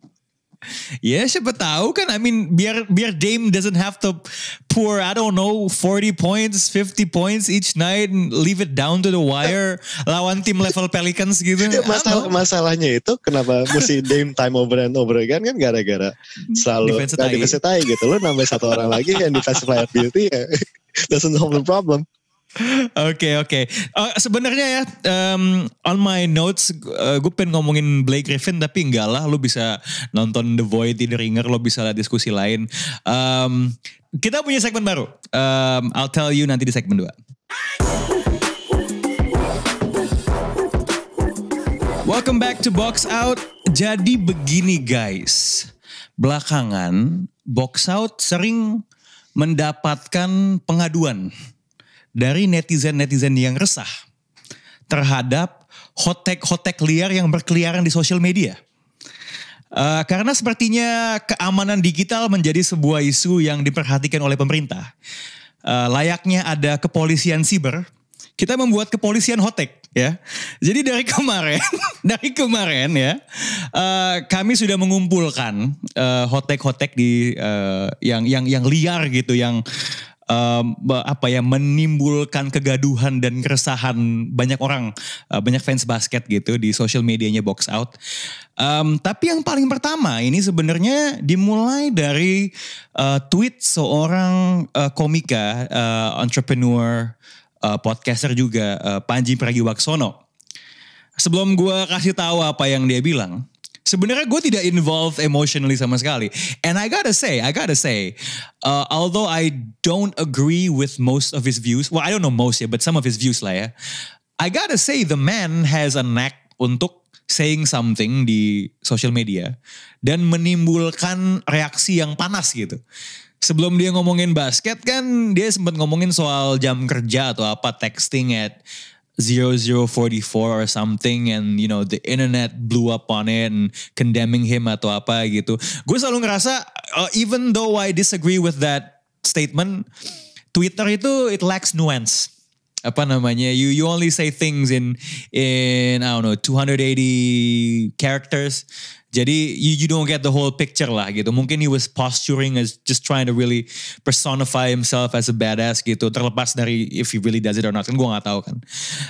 Ya yeah, siapa tahu kan, I mean biar biar Dame doesn't have to pour I don't know forty points, fifty points each night and leave it down to the wire lawan tim level Pelicans gitu. Ya, masalah masalahnya itu kenapa mesti Dame time over and over again kan gara-gara selalu defensive tie gitu. Lo nambah satu orang lagi yang defensive liability ya, doesn't solve the problem. Oke oke. Uh, Sebenarnya ya um, on my notes uh, gue pengen ngomongin Blake Griffin tapi enggak lah, lo bisa nonton The Void di The Ringer, lo bisa lihat diskusi lain. Um, kita punya segmen baru. Um, I'll tell you nanti di segmen dua. Welcome back to Box Out. Jadi begini guys, belakangan Box Out sering mendapatkan pengaduan dari netizen-netizen yang resah terhadap hot take-hot take liar yang berkeliaran di sosial media. Uh, karena sepertinya keamanan digital menjadi sebuah isu yang diperhatikan oleh pemerintah. Uh, layaknya ada kepolisian siber, kita membuat kepolisian hotek ya. Jadi dari kemarin, dari kemarin ya, uh, kami sudah mengumpulkan uh, hotek-hotek di uh, yang yang yang liar gitu, yang Um, apa ya menimbulkan kegaduhan dan keresahan banyak orang, uh, banyak fans basket gitu di social medianya Box Out. Um, tapi yang paling pertama ini sebenarnya dimulai dari uh, tweet seorang uh, komika, uh, entrepreneur, uh, podcaster juga, uh, Panji Pragiwaksono. Sebelum gue kasih tahu apa yang dia bilang, sebenarnya gue tidak involved emotionally sama sekali. And I gotta say, I gotta say, uh, although I don't agree with most of his views, well I don't know most ya, but some of his views lah ya. I gotta say the man has a knack untuk saying something di social media dan menimbulkan reaksi yang panas gitu. Sebelum dia ngomongin basket kan dia sempat ngomongin soal jam kerja atau apa, texting at zero zero forty-four or something, and you know the internet blew up on it and condemning him atau apa gitu. Gue selalu ngerasa uh, even though I disagree with that statement, Twitter itu it lacks nuance. Apa namanya? You you only say things in in I don't know two hundred eighty characters. Jadi you, you don't get the whole picture lah gitu. Mungkin he was posturing as just trying to really personify himself as a badass gitu. Terlepas dari if he really does it or not. Kan gue gak tahu kan.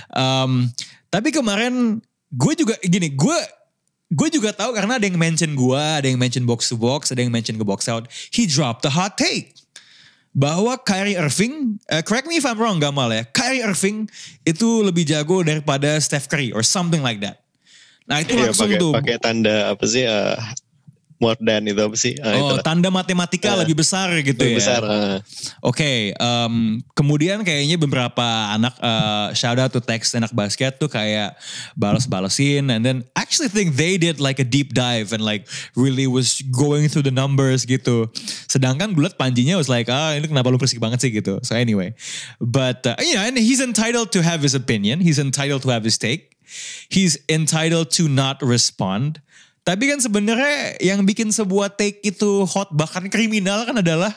Um, tapi kemarin gue juga gini. Gue gue juga tahu karena ada yang mention gue. Ada yang mention Box to Box. Ada yang mention ke Box Out. He dropped a hot take. Bahwa Kyrie Irving, uh, correct me if I'm wrong Gamal ya. Kyrie Irving itu lebih jago daripada Steph Curry or something like that. Nah itu iya, langsung pake, tuh. Pakai tanda apa sih? Uh, more than itu apa sih? Uh, oh itulah. Tanda matematika uh, lebih besar gitu lebih ya. Besar. Uh. Oke. Okay, um, kemudian kayaknya beberapa anak uh, shout out to text anak basket tuh kayak balas-balasin, and then actually think they did like a deep dive and like really was going through the numbers gitu. Sedangkan gue liat Panjinya was like, ah ini kenapa lu berisik banget sih gitu. So anyway, but uh, you know, and he's entitled to have his opinion. He's entitled to have his take. He's entitled to not respond. Tapi kan sebenarnya yang bikin sebuah take itu hot bahkan kriminal kan adalah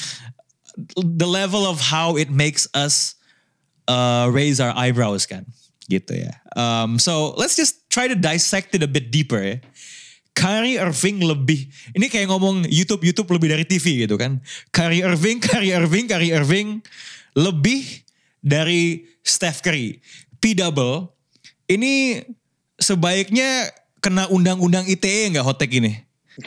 the level of how it makes us uh, raise our eyebrows kan, gitu ya. Um, so let's just try to dissect it a bit deeper ya. Kyrie Irving lebih, ini kayak ngomong YouTube YouTube lebih dari T V gitu kan. Kyrie Irving, Kyrie Irving, Kyrie Irving lebih dari Steph Curry. P double. Ini sebaiknya kena undang-undang I T E nggak hotek ini?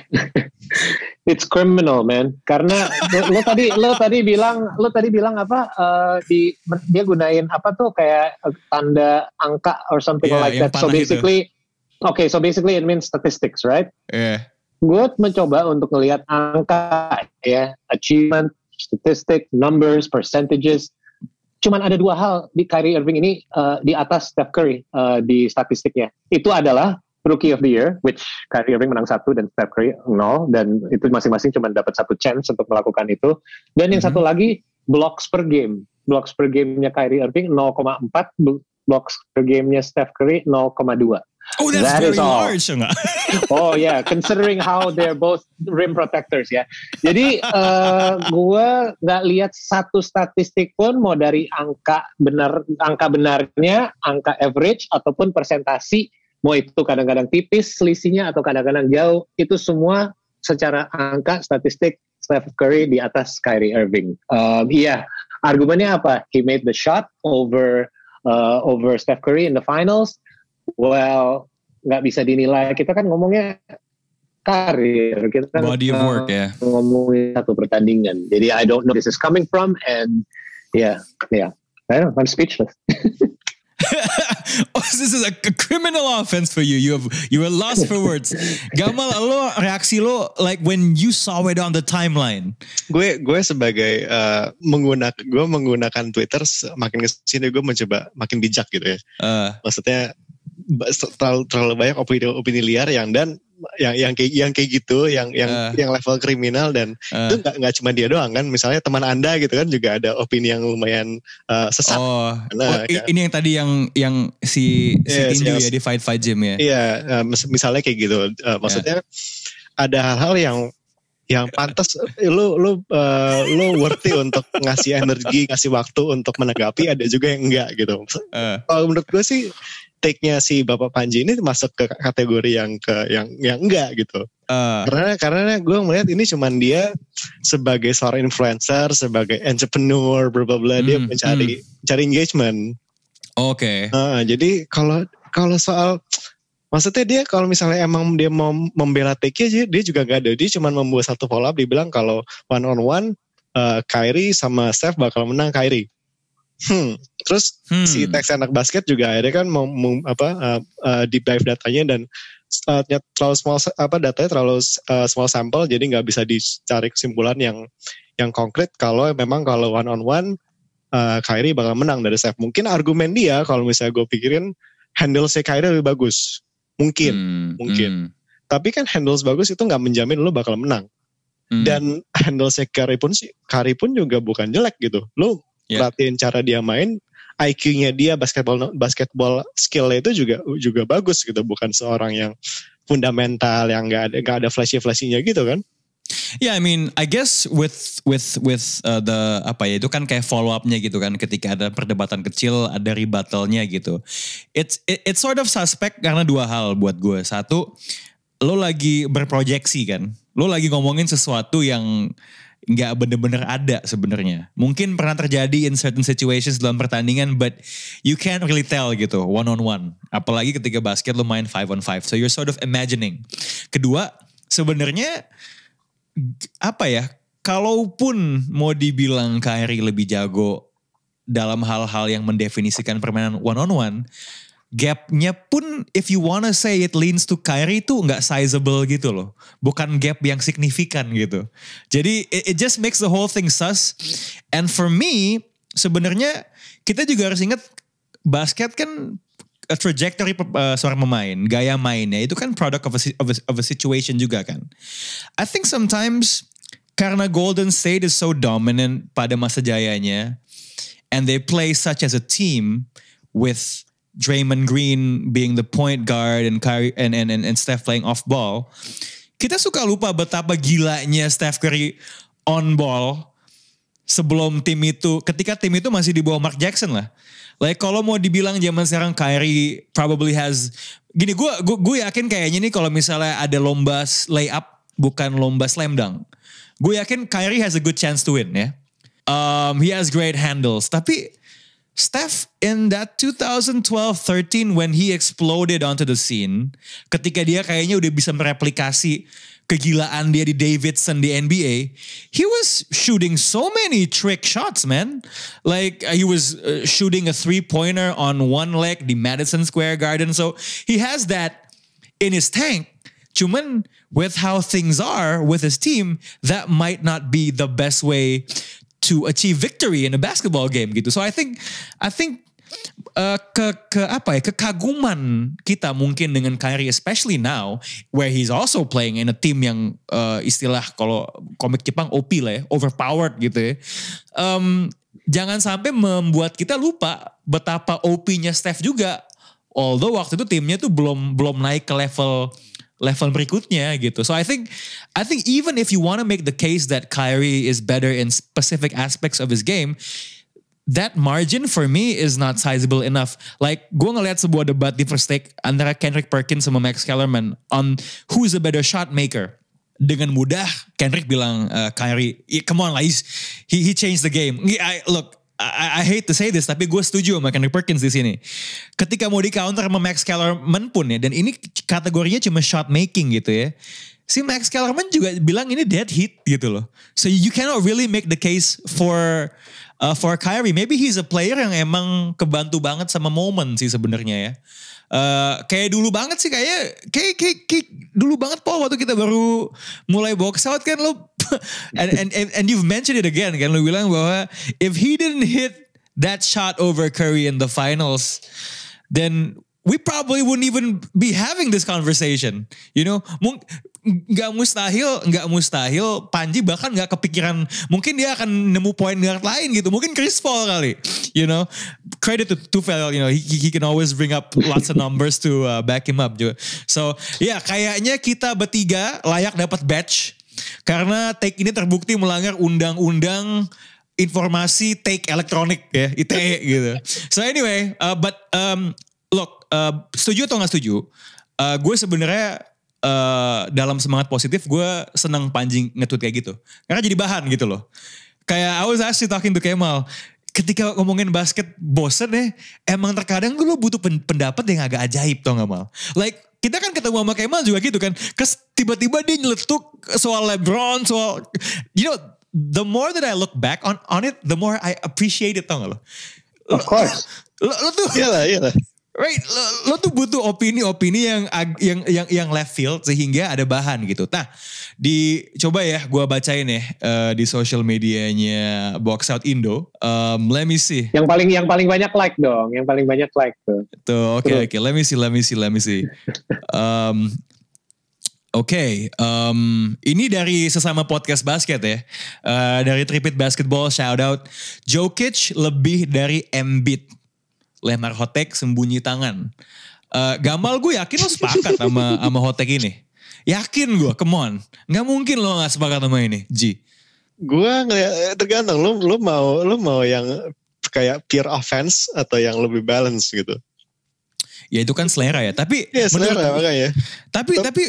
It's criminal, man. Karena lo, lo tadi lo tadi bilang lo tadi bilang apa? Uh, di dia gunain apa tuh kayak tanda angka or something yeah, like that. So basically, itu. okay, so basically it means statistics, right? Yeah. Gue mencoba untuk ngelihat angka ya, achievement, statistic, numbers, percentages. Cuman ada dua hal di Kyrie Irving ini uh, di atas Steph Curry uh, di statistiknya. Itu adalah Rookie of the Year, which Kyrie Irving menang satu dan Steph Curry nol, dan itu masing-masing cuma dapat satu chance untuk melakukan itu. Dan yang mm-hmm. satu lagi blocks per game. Blocks per game-nya Kyrie Irving nol koma empat, blocks per game-nya Steph Curry nol koma dua. Oh, that's that very large. Oh yeah, considering how they're both rim protectors ya. Jadi uh, gue nggak lihat satu statistik pun mau dari angka benar, angka benarnya, angka average ataupun persentasi, mau itu kadang-kadang tipis selisihnya atau kadang-kadang jauh, itu semua secara angka statistik Steph Curry di atas Kyrie Irving. Um, iya, argumennya apa? He made the shot over uh, over Steph Curry in the finals. Well, nggak bisa dinilai. Kita kan ngomongnya karir, kita kan body of work uh, ya. Ngomongin satu pertandingan. Jadi I don't know where this is coming from, and yeah, yeah, I don't know, I'm speechless. Oh, this is a, a criminal offense for you. You have you were lost for words. Gamal, lo reaksi lo like when you saw it on the timeline. Gue gue sebagai uh, menggunakan gue menggunakan Twitter makin kesini gue mencoba makin bijak gitu ya. Uh. Maksudnya terlalu terlalu banyak opini-opini liar yang dan yang yang kayak yang kayak gitu, yang yang uh. yang level kriminal, dan uh. itu nggak nggak cuma dia doang kan. Misalnya teman Anda gitu kan juga ada opini yang lumayan uh, sesat. Oh, nah, oh kan. Ini yang tadi yang yang si si yeah, Tinju si, ya di Fight Fight Gym ya. Iya, uh, misalnya kayak gitu. Uh, maksudnya yeah. ada hal-hal yang yang pantas lu lu uh, lu worthy untuk ngasih energi, ngasih waktu untuk menanggapi, ada juga yang enggak gitu. Uh. Kalau menurut gue sih take-nya si Bapak Panji ini masuk ke kategori yang ke yang yang enggak gitu. Uh. Karena karena gue melihat ini cuman dia sebagai seorang influencer, sebagai entrepreneur, bla bla bla, dia Hmm, mencari cari engagement. Oke. Uh, jadi kalau kalau soal maksudnya dia kalau misalnya emang dia mau membela take-nya, dia juga gak ada. Dia cuma membuat satu follow up, dia bilang kalau one on one uh, Kyrie sama Steph bakal menang Kyrie. Hmm. Terus hmm. si Tex anak basket juga akhirnya kan mau, mau apa uh, uh, deep dive datanya dan uh, terlalu small apa datanya terlalu uh, small sample, jadi nggak bisa dicari kesimpulan yang yang konkret kalau memang kalau one on one uh, Kyrie bakal menang dari Steph. Mungkin argumen dia kalau misalnya gue pikirin handle si Kyrie lebih bagus. Mungkin, hmm, mungkin. Hmm. Tapi kan handles bagus itu nggak menjamin lo bakal menang. Hmm. Dan handles Curry pun sih, Curry pun juga bukan jelek gitu. Lo yeah. perhatiin cara dia main, I Q-nya dia basketball basketball skill-nya itu juga juga bagus gitu. Bukan seorang yang fundamental yang nggak ada nggak ada flashy-flashy-nya gitu kan? Yeah, I mean, I guess with with with uh, the apa ya itu kan kayak follow up-nya gitu kan, ketika ada perdebatan kecil, ada rebuttal-nya gitu. It's it, it's sort of suspect karena dua hal buat gue. Satu, lo lagi berproyeksi kan, lo lagi ngomongin sesuatu yang nggak bener-bener ada sebenarnya. Mungkin pernah terjadi in certain situations dalam pertandingan, but you can't really tell gitu one on one. Apalagi ketika basket lo main five on five, so you're sort of imagining. Kedua, sebenarnya apa ya, kalaupun mau dibilang Kyrie lebih jago dalam hal-hal yang mendefinisikan permainan one on one, gapnya pun if you wanna say it leans to Kyrie itu nggak sizable gitu loh, bukan gap yang signifikan gitu. Jadi it, it just makes the whole thing sus. And for me sebenarnya kita juga harus ingat basket kan a trajectory uh, seorang pemain, gaya mainnya itu kan product of a, of a, of a situation juga kan. I think sometimes karena Golden State is so dominant pada masa jayanya, and they play such as a team with Draymond Green being the point guard and Kyrie and and and, and Steph playing off ball, kita suka lupa betapa gilanya Steph Curry on ball sebelum tim itu, ketika tim itu masih di bawah Mark Jackson lah. Like kalau mau dibilang zaman sekarang Kyrie probably has, gini gue gue gue yakin kayaknya nih kalau misalnya ada lomba layup bukan lomba slam dunk, gue yakin Kyrie has a good chance to win ya. Um, he has great handles, tapi Steph in that twenty twelve thirteen when he exploded onto the scene, ketika dia kayaknya udah bisa mereplikasi kegilaan dia di Davidson di N B A, he was shooting so many trick shots, man. Like uh, he was uh, shooting a three-pointer on one leg di Madison Square Garden. So he has that in his tank. Cuman with how things are with his team, that might not be the best way to achieve victory in a basketball game gitu. So I think I think Uh, ke ke apa ya kekaguman kita mungkin dengan Kyrie, especially now where he's also playing in a team yang uh, istilah kalau komik Jepang O P lah ya, overpowered gitu ya. Um, jangan sampai membuat kita lupa betapa O P-nya Steph juga. Although waktu itu timnya tuh belum belum naik ke level level berikutnya gitu. So I think I think even if you want to make the case that Kyrie is better in specific aspects of his game, that margin for me is not sizable enough. Like gue ngeliat sebuah debat di First Take antara Kendrick Perkins sama Max Kellerman on who's a better shot maker. Dengan mudah Kendrick bilang uh, Kyrie, yeah, come on lah, he he changed the game. I, look, I, I hate to say this, tapi gue setuju sama Kendrick Perkins di sini. Ketika mau di counter sama Max Kellerman pun ya, dan ini kategorinya cuma shot making gitu ya. Si Max Kellerman juga bilang ini dead heat gitu loh. So you cannot really make the case for Uh, for Kyrie. Maybe he's a player yang emang kebantu banget sama momen sih sebenarnya ya. Uh, kayak dulu banget sih kayak, kayak, kayak, kayak dulu banget Paul waktu kita baru mulai box out kan lo. and, and, and, and you've mentioned it again kan, lo bilang bahwa if he didn't hit that shot over Curry in the finals, then we probably wouldn't even be having this conversation. You know, Mung- nggak mustahil, nggak mustahil Panji bahkan nggak kepikiran mungkin dia akan nemu point guard lain gitu. Mungkin Chris Paul kali. You know, credit to Tufel, you know, he, he can always bring up lots of numbers to uh, back him up juga. So, ya yeah, kayaknya kita bertiga layak dapat badge karena take ini terbukti melanggar undang-undang informasi take elektronik ya, I T E gitu. So anyway, uh, but um, look, uh, setuju atau nggak setuju? Uh, gue sebenarnya uh, dalam semangat positif gue senang Panji nge-tweet kayak gitu. Karena jadi bahan gitu loh. Kayak I was actually talking to Kemal. Ketika ngomongin basket bosen ya, emang terkadang tuh lo butuh pendapat yang agak ajaib tau gak Mal? Like kita kan ketemu sama Kemal juga gitu kan. Kes tiba-tiba dia nyeletuk soal LeBron, soal, you know, the more that I look back on on it, the more I appreciate it, tau gak lo? Of course. Lo, lo tuh, iyalah, iyalah. Right, lo, lo tuh butuh opini-opini yang yang yang yang left field sehingga ada bahan gitu. Nah, di coba ya, gue bacain ya uh, di social medianya Box Out Indo. Um, let me see. Yang paling yang paling banyak like dong, yang paling banyak like tuh. Tuh, oke okay, oke. Okay. Let me see, let me see, let me see. Um, Oke, okay, um, ini dari sesama podcast basket ya. Uh, dari Tripit Basketball, shout out. Jokic lebih dari Embiid. Lemar hotek sembunyi tangan. Uh, Gamal gue yakin lo sepakat sama sama hotek ini. Yakin gue, come on. Gak mungkin lo gak sepakat sama ini, G. Gue ngeliat tergantung lo lo mau lo mau yang kayak pure offense atau yang lebih balance gitu. Ya itu kan selera ya. Tapi ya selera menurut, makanya. Tapi tapi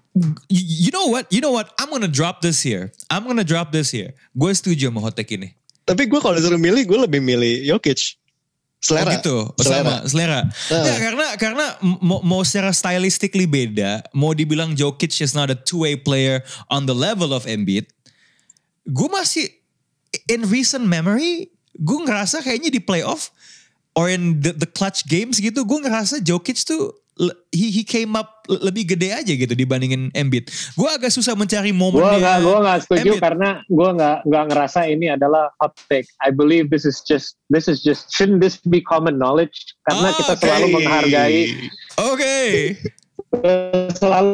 you know what? You know what? I'm gonna drop this here. I'm gonna drop this here. Gue setuju sama hotek ini. Tapi gue kalau disuruh milih, gue lebih milih Jokic. Selera. Oh gitu, selera. sama selera. Nah. Ya, karena karena mau, mau secara stylistically beda, mau dibilang Jokic is not a two-way player on the level of Embiid, gue masih in recent memory, gue ngerasa kayaknya di playoff or in the, the clutch games gitu, gue ngerasa Jokic tuh he he came up lebih gede aja gitu dibandingin Embiid. Gue agak susah mencari momennya. Gue nggak gue nggak setuju Embiid. Karena gue nggak nggak ngerasa ini adalah hot take. I believe this is just this is just shouldn't this be common knowledge? Karena oh, kita okay. selalu menghargai. Oke. Okay. Selalu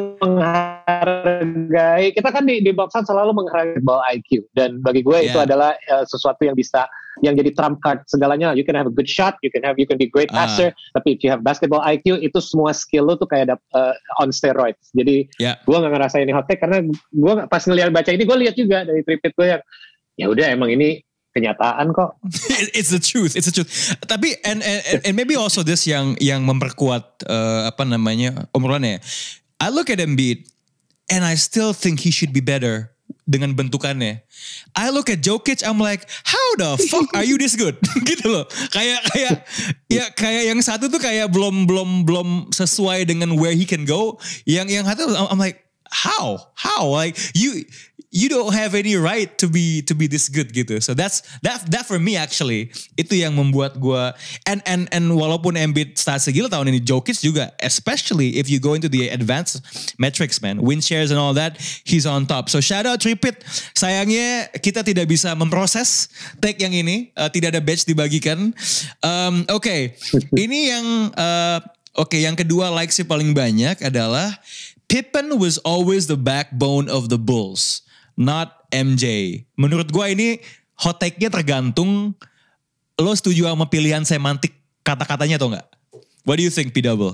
menghargai. Kita kan di di boxan selalu menghargai ball I Q dan bagi gue yeah. itu adalah uh, sesuatu yang bisa yang jadi trump card segalanya. You can have a good shot, you can have you can be great passer, uh. tapi if you have basketball I Q itu semua skill lo tuh kayak uh, on steroids. Jadi yeah. gue nggak ngerasa ini hot take karena gue pas ngeliat baca ini gue lihat juga dari tripit gue yang ya udah emang ini kenyataan kok. It's the truth, it's the truth. Tapi and and, and maybe also this yang yang memperkuat uh, apa namanya obrolannya. I look at Embiid and I still think he should be better dengan bentukannya. I look at Jokic, I'm like, how the fuck are you this good? Gitu loh. Kayak kayak ya kayak yang satu tuh kayak belum belum belum sesuai dengan where he can go. Yang yang satu I'm like, how? How? Like you you don't have any right to be to be this good gitu. So that's that that for me actually itu yang membuat gue and and and walaupun Embiid start segila tahun ini, Jokic juga, especially if you go into the advanced metrics man, win shares and all that, he's on top. So shout out Tripit. Sayangnya kita tidak bisa memproses take yang ini, uh, tidak ada badge dibagikan. Um, Oke, okay. Ini yang uh, oke okay, yang kedua likes paling banyak adalah Pippen was always the backbone of the Bulls. Not M J. Menurut gue ini hot take-nya tergantung lo setuju sama pilihan semantik kata-katanya atau enggak? What do you think, P Double?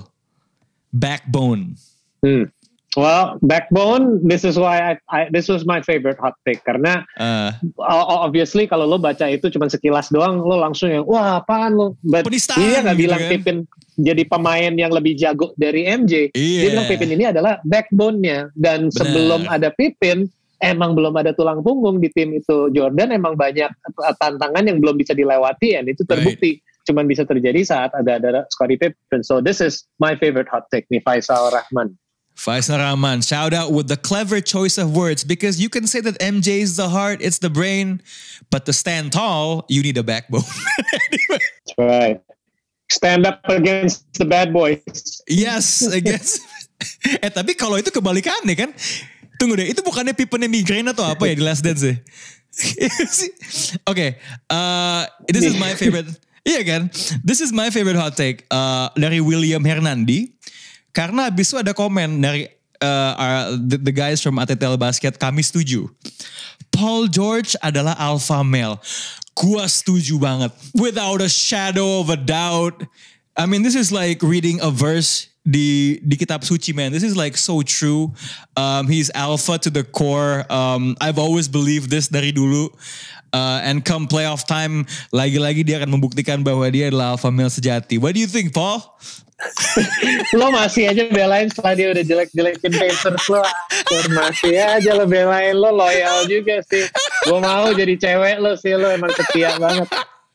Backbone. Hmm. Well, backbone, this is why I, I this was my favorite hot take karena uh, obviously kalau lo baca itu cuma sekilas doang lo langsung yang wah apaan lo. But dia nggak bilang kan? Pippen jadi pemain yang lebih jago dari M J. Yeah. Dia bilang Pippen ini adalah backbone-nya dan bener. Sebelum ada Pippen emang belum ada tulang punggung di tim itu. Jordan emang banyak tantangan yang belum bisa dilewati dan itu terbukti. Right. Cuman bisa terjadi saat ada ada Scottie Pippen. So this is my favorite hot take nih, Faisal Rahman. Faisal Rahman, shout out with the clever choice of words because you can say that M J is the heart, it's the brain, but to stand tall, you need a backbone. Anyway. That's right. Stand up against the bad boys. Yes, against. eh tapi kalau itu kebalikannya kan. Tunggu deh, itu bukannya Pippennya migrain atau apa ya di Last Dance ya? Oke, okay, uh, this is my favorite. Iya kan? This is my favorite hot take uh, dari William Hernandi. Karena abis itu ada komen dari uh, our, the, the guys from A T T L Basket. Kami setuju. Paul George adalah alpha male. Gua setuju banget. Without a shadow of a doubt. I mean, this is like reading a verse di di kitab suci, man. This is like so true. Um, he's alpha to the core. Um, I've always believed this dari dulu. Uh, and come playoff time, lagi-lagi dia akan membuktikan bahwa dia adalah alpha male sejati. What do you think, Paul? Lo masih aja belain setelah dia udah jelek-jelekin Pacers lo. Masih aja lo belain, lo loyal juga sih. Gue mau jadi cewek lo sih, lo emang setia banget.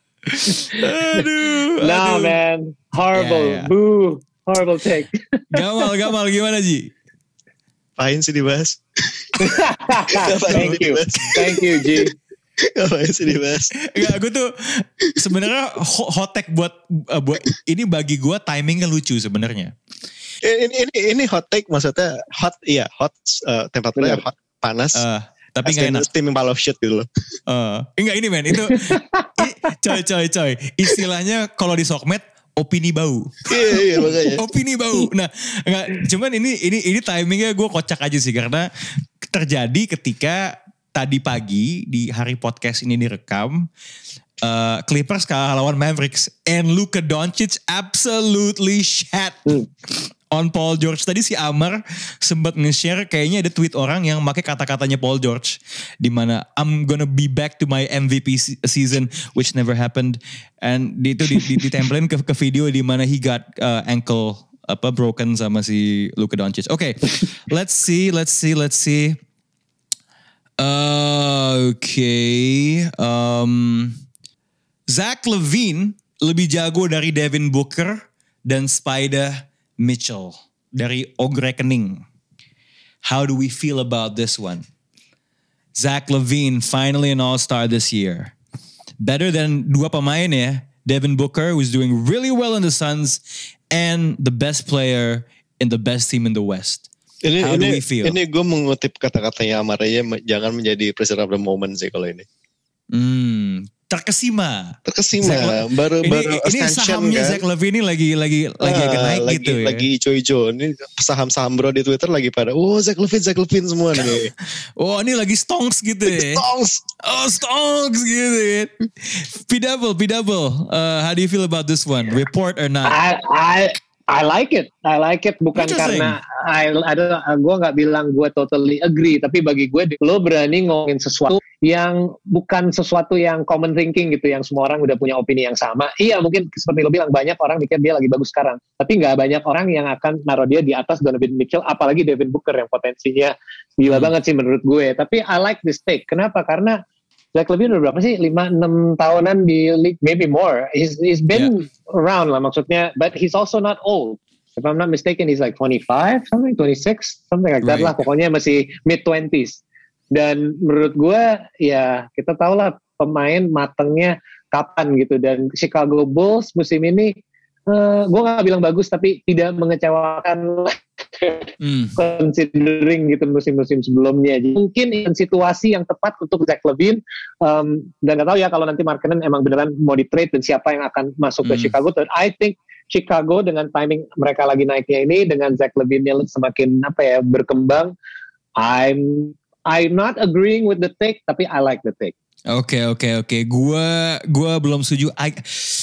Aduh, Nah aduh. man, horrible, Yeah, yeah. boo, horrible take. Gamal, Gamal gimana Ji? Ngapain sih dibahas? Thank you, thank you G. Ngapain sih dibahas? Enggak, gue tuh sebenarnya ho- hot take buat uh, buat ini bagi gue timingnya lucu sebenarnya. Ini, ini ini hot take maksudnya hot, iya hot, uh, temperaturnya Bener. hot, panas. Uh, tapi nggak enak. Steaming pile of shit gitu loh. Uh, enggak ini men itu i- coy coy coy istilahnya kalau di sokmed opini bau. Iya iya makanya. Opini bau. Nah, enggak, cuman ini ini ini timingnya gue kocak aja sih karena terjadi ketika tadi pagi di hari podcast ini direkam, uh, Clippers kalah lawan Mavericks and Luka Doncic absolutely shat Hmm. on Paul George. Tadi si Amar sempat nge-share kayaknya ada tweet orang yang pakai kata-katanya Paul George di mana I'm gonna be back to my M V P se- season which never happened, and di itu di, di, ditempelin ke, ke video di mana he got uh, ankle apa broken sama si Luka Doncic. Oke, okay, let's see, let's see, let's see. Uh, Oke, okay. um, Zach LaVine lebih jago dari Devin Booker dan Spider Mitchell dari Og Reckoning. How do we feel about this one? Zach LaVine finally an all-star this year. Better than dua pemain ya. Devin Booker was doing really well in the Suns and the best player in the best team in the West. Ini How do ini we feel? ini gue mengutip kata-katanya Amaraya, jangan menjadi prisoner of the moment sih kalau ini. Hmm, terkesima. Terkesima Zach- baru Ini, baru ini ascension sahamnya kan. Zach LaVine ini lagi lagi lagi agak Ah, naik lagi, gitu ya. Lagi ijo-ijo. Ini saham-saham bro di Twitter lagi pada, oh Zach LaVine, Zach LaVine semua nih. Oh ini lagi stonks gitu ya. Stonks. Oh stonks gitu ya. P-double, P-double. Uh, how do you feel about this one? Report or not? I I I like it. I like it bukan Interesting. karena I ada gue nggak bilang gue totally agree, tapi bagi gue lo berani ngomongin sesuatu yang bukan sesuatu yang common thinking gitu, yang semua orang udah punya opini yang sama. Iya mungkin seperti lo bilang banyak orang mikir dia lagi bagus sekarang, tapi nggak banyak orang yang akan naruh dia di atas Donovan Mitchell, apalagi Devin Booker yang potensinya gila Hmm. banget sih menurut gue. Tapi I like this take. Kenapa? Karena Zach LaVine udah berapa sih? lima enam tahunan di league, maybe more. He's he's been around lah maksudnya, but he's also not old. If I'm not mistaken, he's like twenty-five, something, twenty-six, something like that Right. lah. Pokoknya masih mid twenties. Dan menurut gue, ya kita tahu lah pemain matengnya kapan gitu. Dan Chicago Bulls musim ini, uh, gue gak bilang bagus, tapi tidak mengecewakan Hmm. considering gitu musim-musim sebelumnya. Jadi mungkin in situasi yang tepat untuk Zach LaVine, um, dan gak tahu ya kalau nanti Markkanen emang beneran mau di trade dan siapa yang akan masuk ke Hmm. Chicago. But I think Chicago dengan timing mereka lagi naiknya ini, dengan Zach LaVine semakin apa ya berkembang, I'm I'm not agreeing with the take, tapi I like the take. Oke oke oke. Gua gua belum setuju. I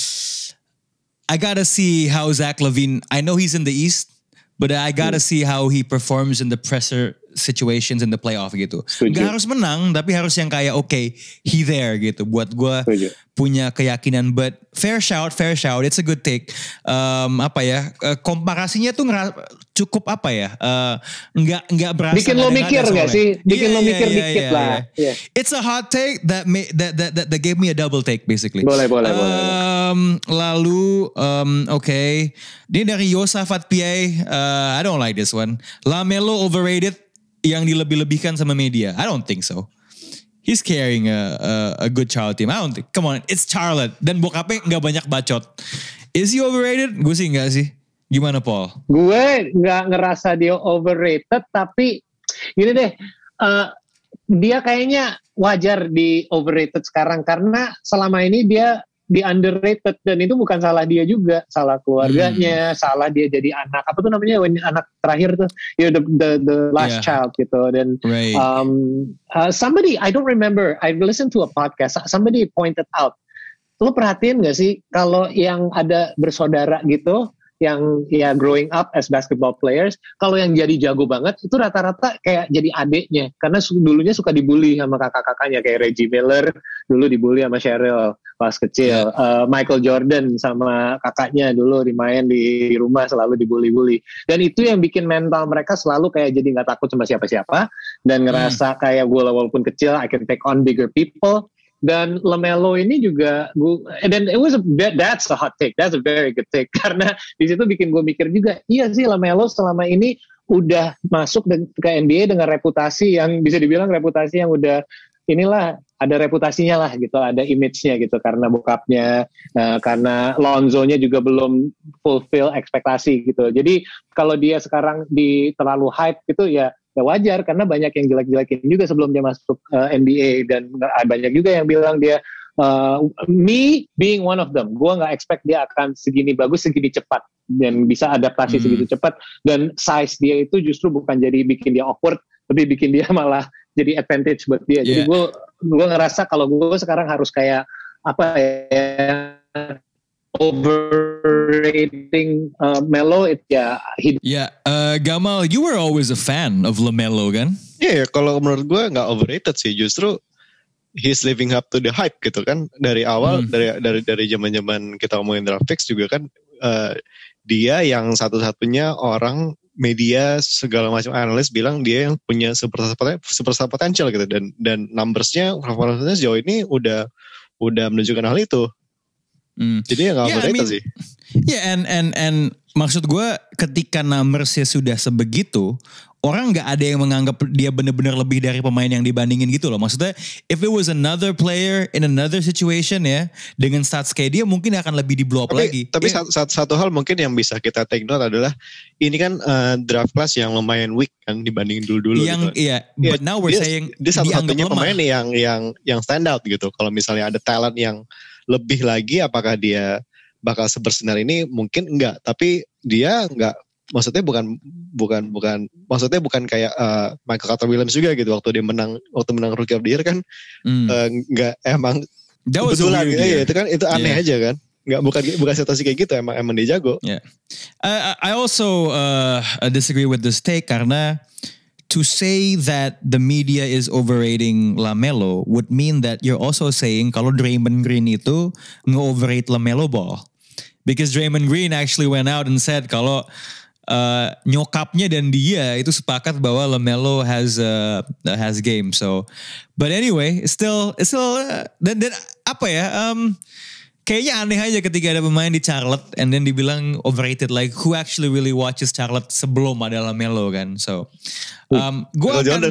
I gotta see how Zach LaVine. I know he's in the East, but I gotta see how he performs in the pressure situations in the playoff gitu. Setuju. Gak harus menang, tapi harus yang kayak oke, okay, he there gitu. Buat gue Setuju. punya keyakinan. But fair shout, fair shout. It's a good take. Um, apa ya? Uh, komparasinya tuh ngera- cukup apa ya? Uh, nggak nggak berasa. Bikin lo ngada-ngada mikir nggak soalnya. sih? Bikin Iya, lo iya, mikir iya, dikit iya, lah. iya. Iya. It's a hot take that may, that, that that that gave me a double take basically. Boleh, boleh, boleh. Um, lalu, um, oke, okay. Ini dari Yosafat P A. Uh, I don't like this one. LaMelo overrated yang dilebih-lebihkan sama media. I don't think so. He's carrying a, a a good Charlotte team. I don't think. Come on, it's Charlotte. Dan bokapnya nggak banyak bacot. Is he overrated? Gue sih nggak sih. Gimana Paul? Gue nggak ngerasa dia overrated, tapi gini deh, uh, dia kayaknya wajar di overrated sekarang karena selama ini dia di underrated, dan itu bukan salah dia juga, salah keluarganya, hmm. salah dia jadi anak apa tuh namanya, when anak terakhir tuh, you know, the the, the last yeah. child gitu. Dan right. um, uh, somebody I don't remember, I listened to a podcast, somebody pointed out, lo perhatiin gak sih kalau yang ada bersaudara gitu, yang ya growing up as basketball players, kalau yang jadi jago banget itu rata-rata kayak jadi adeknya, karena dulunya suka dibully sama kakak-kakaknya, kayak Reggie Miller dulu dibully sama Cheryl pas kecil, yeah. uh, Michael Jordan sama kakaknya dulu dimain di, di rumah selalu dibully-bully, dan itu yang bikin mental mereka selalu kayak jadi nggak takut sama siapa-siapa dan ngerasa hmm. kayak gue walaupun kecil I can take on bigger people. Dan LaMelo ini juga, gue, dan it was a, that, that's a hot take, that's a very good take, karena di situ bikin gue mikir juga, iya sih LaMelo selama ini udah masuk ke N B A dengan reputasi yang bisa dibilang reputasi yang udah inilah, ada reputasinya lah gitu, ada image-nya gitu, karena bokapnya, uh, karena Lonzo-nya juga belum fulfill ekspektasi gitu. Jadi kalau dia sekarang di terlalu hype gitu ya, ya wajar, karena banyak yang jelek-jelekin juga sebelum dia masuk uh, N B A, dan banyak juga yang bilang dia uh, me being one of them, gue nggak expect dia akan segini bagus, segini cepat, dan bisa adaptasi hmm. segitu cepat, dan size dia itu justru bukan jadi bikin dia awkward, tapi bikin dia malah jadi advantage buat dia. Yeah. Jadi gue gue ngerasa kalau gue sekarang harus kayak apa ya, overrating uh, Melo, it ya. Yeah, yeah. Uh, Gamal, you were always a fan of LaMelo kan? Iya, yeah, kalau menurut gue nggak overrated sih, justru he's living up to the hype gitu kan. Dari awal, hmm. dari dari dari zaman-zaman kita ngomongin draft picks juga kan, uh, dia yang satu-satunya orang media segala macam analis bilang dia yang punya superstar superstar potensial gitu, dan dan numbersnya, performance-nya sejauh ini udah udah menunjukkan hal itu. Hmm. Jadi ya nggak yeah, overrated I mean, sih. Ya yeah, and and and maksud gue ketika numbersnya sudah sebegitu, orang nggak ada yang menganggap dia benar-benar lebih dari pemain yang dibandingin gitu loh. Maksudnya if it was another player in another situation ya, dengan stats kayak dia mungkin akan lebih di blow up tapi, lagi. Tapi yeah. satu, satu hal mungkin yang bisa kita take note adalah ini kan uh, draft class yang lumayan weak kan dibandingin dulu-dulu. Yang gitu. iya, yeah, but now we're dia, saying dia satu-satunya pemain yang yang yang stand out gitu. Kalau misalnya ada talent yang lebih lagi, apakah dia bakal sebersinar ini? Mungkin enggak, tapi dia enggak, maksudnya bukan bukan bukan maksudnya bukan kayak uh, Michael Carter Williams juga gitu, waktu dia menang waktu menang Rookie of the Year kan hmm. uh, enggak emang kebetulan gitu, ya, itu kan itu aneh yeah. aja kan, enggak bukan bukan situasi kayak gitu, emang emang dia jago. Yeah. Uh, I also uh, disagree with this take, karena to say that the media is overrating LaMelo would mean that you're also saying kalau Draymond Green itu nge-overrate LaMelo Ball. Because Draymond Green actually went out and said kalau uh, nyokapnya dan dia itu sepakat bahwa LaMelo has uh, has game. So, but anyway, it's still it's still uh, dan dan apa ya? Um, Kayaknya aneh aja ketika ada pemain di Charlotte and then dibilang overrated, like who actually really watches Charlotte sebelum ada LaMelo kan. So um, gue akan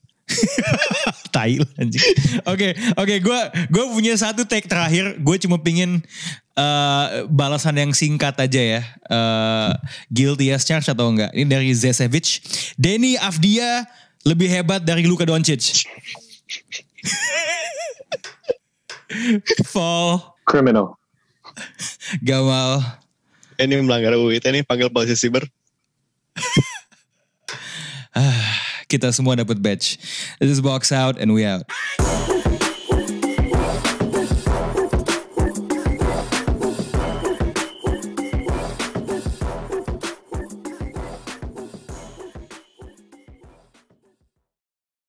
Thailand anjing. Oke, oke, gue gue punya satu take terakhir. Gue cuma pingin uh, balasan yang singkat aja ya. Uh, guilty as charged atau enggak? Ini dari Zesevic. Denny Avdia lebih hebat dari Luka Doncic. Fall. Criminal. Gamal. Ini melanggar U I T, ini panggil polisi siber. Kita semua dapat badge. This is Box Out and we out.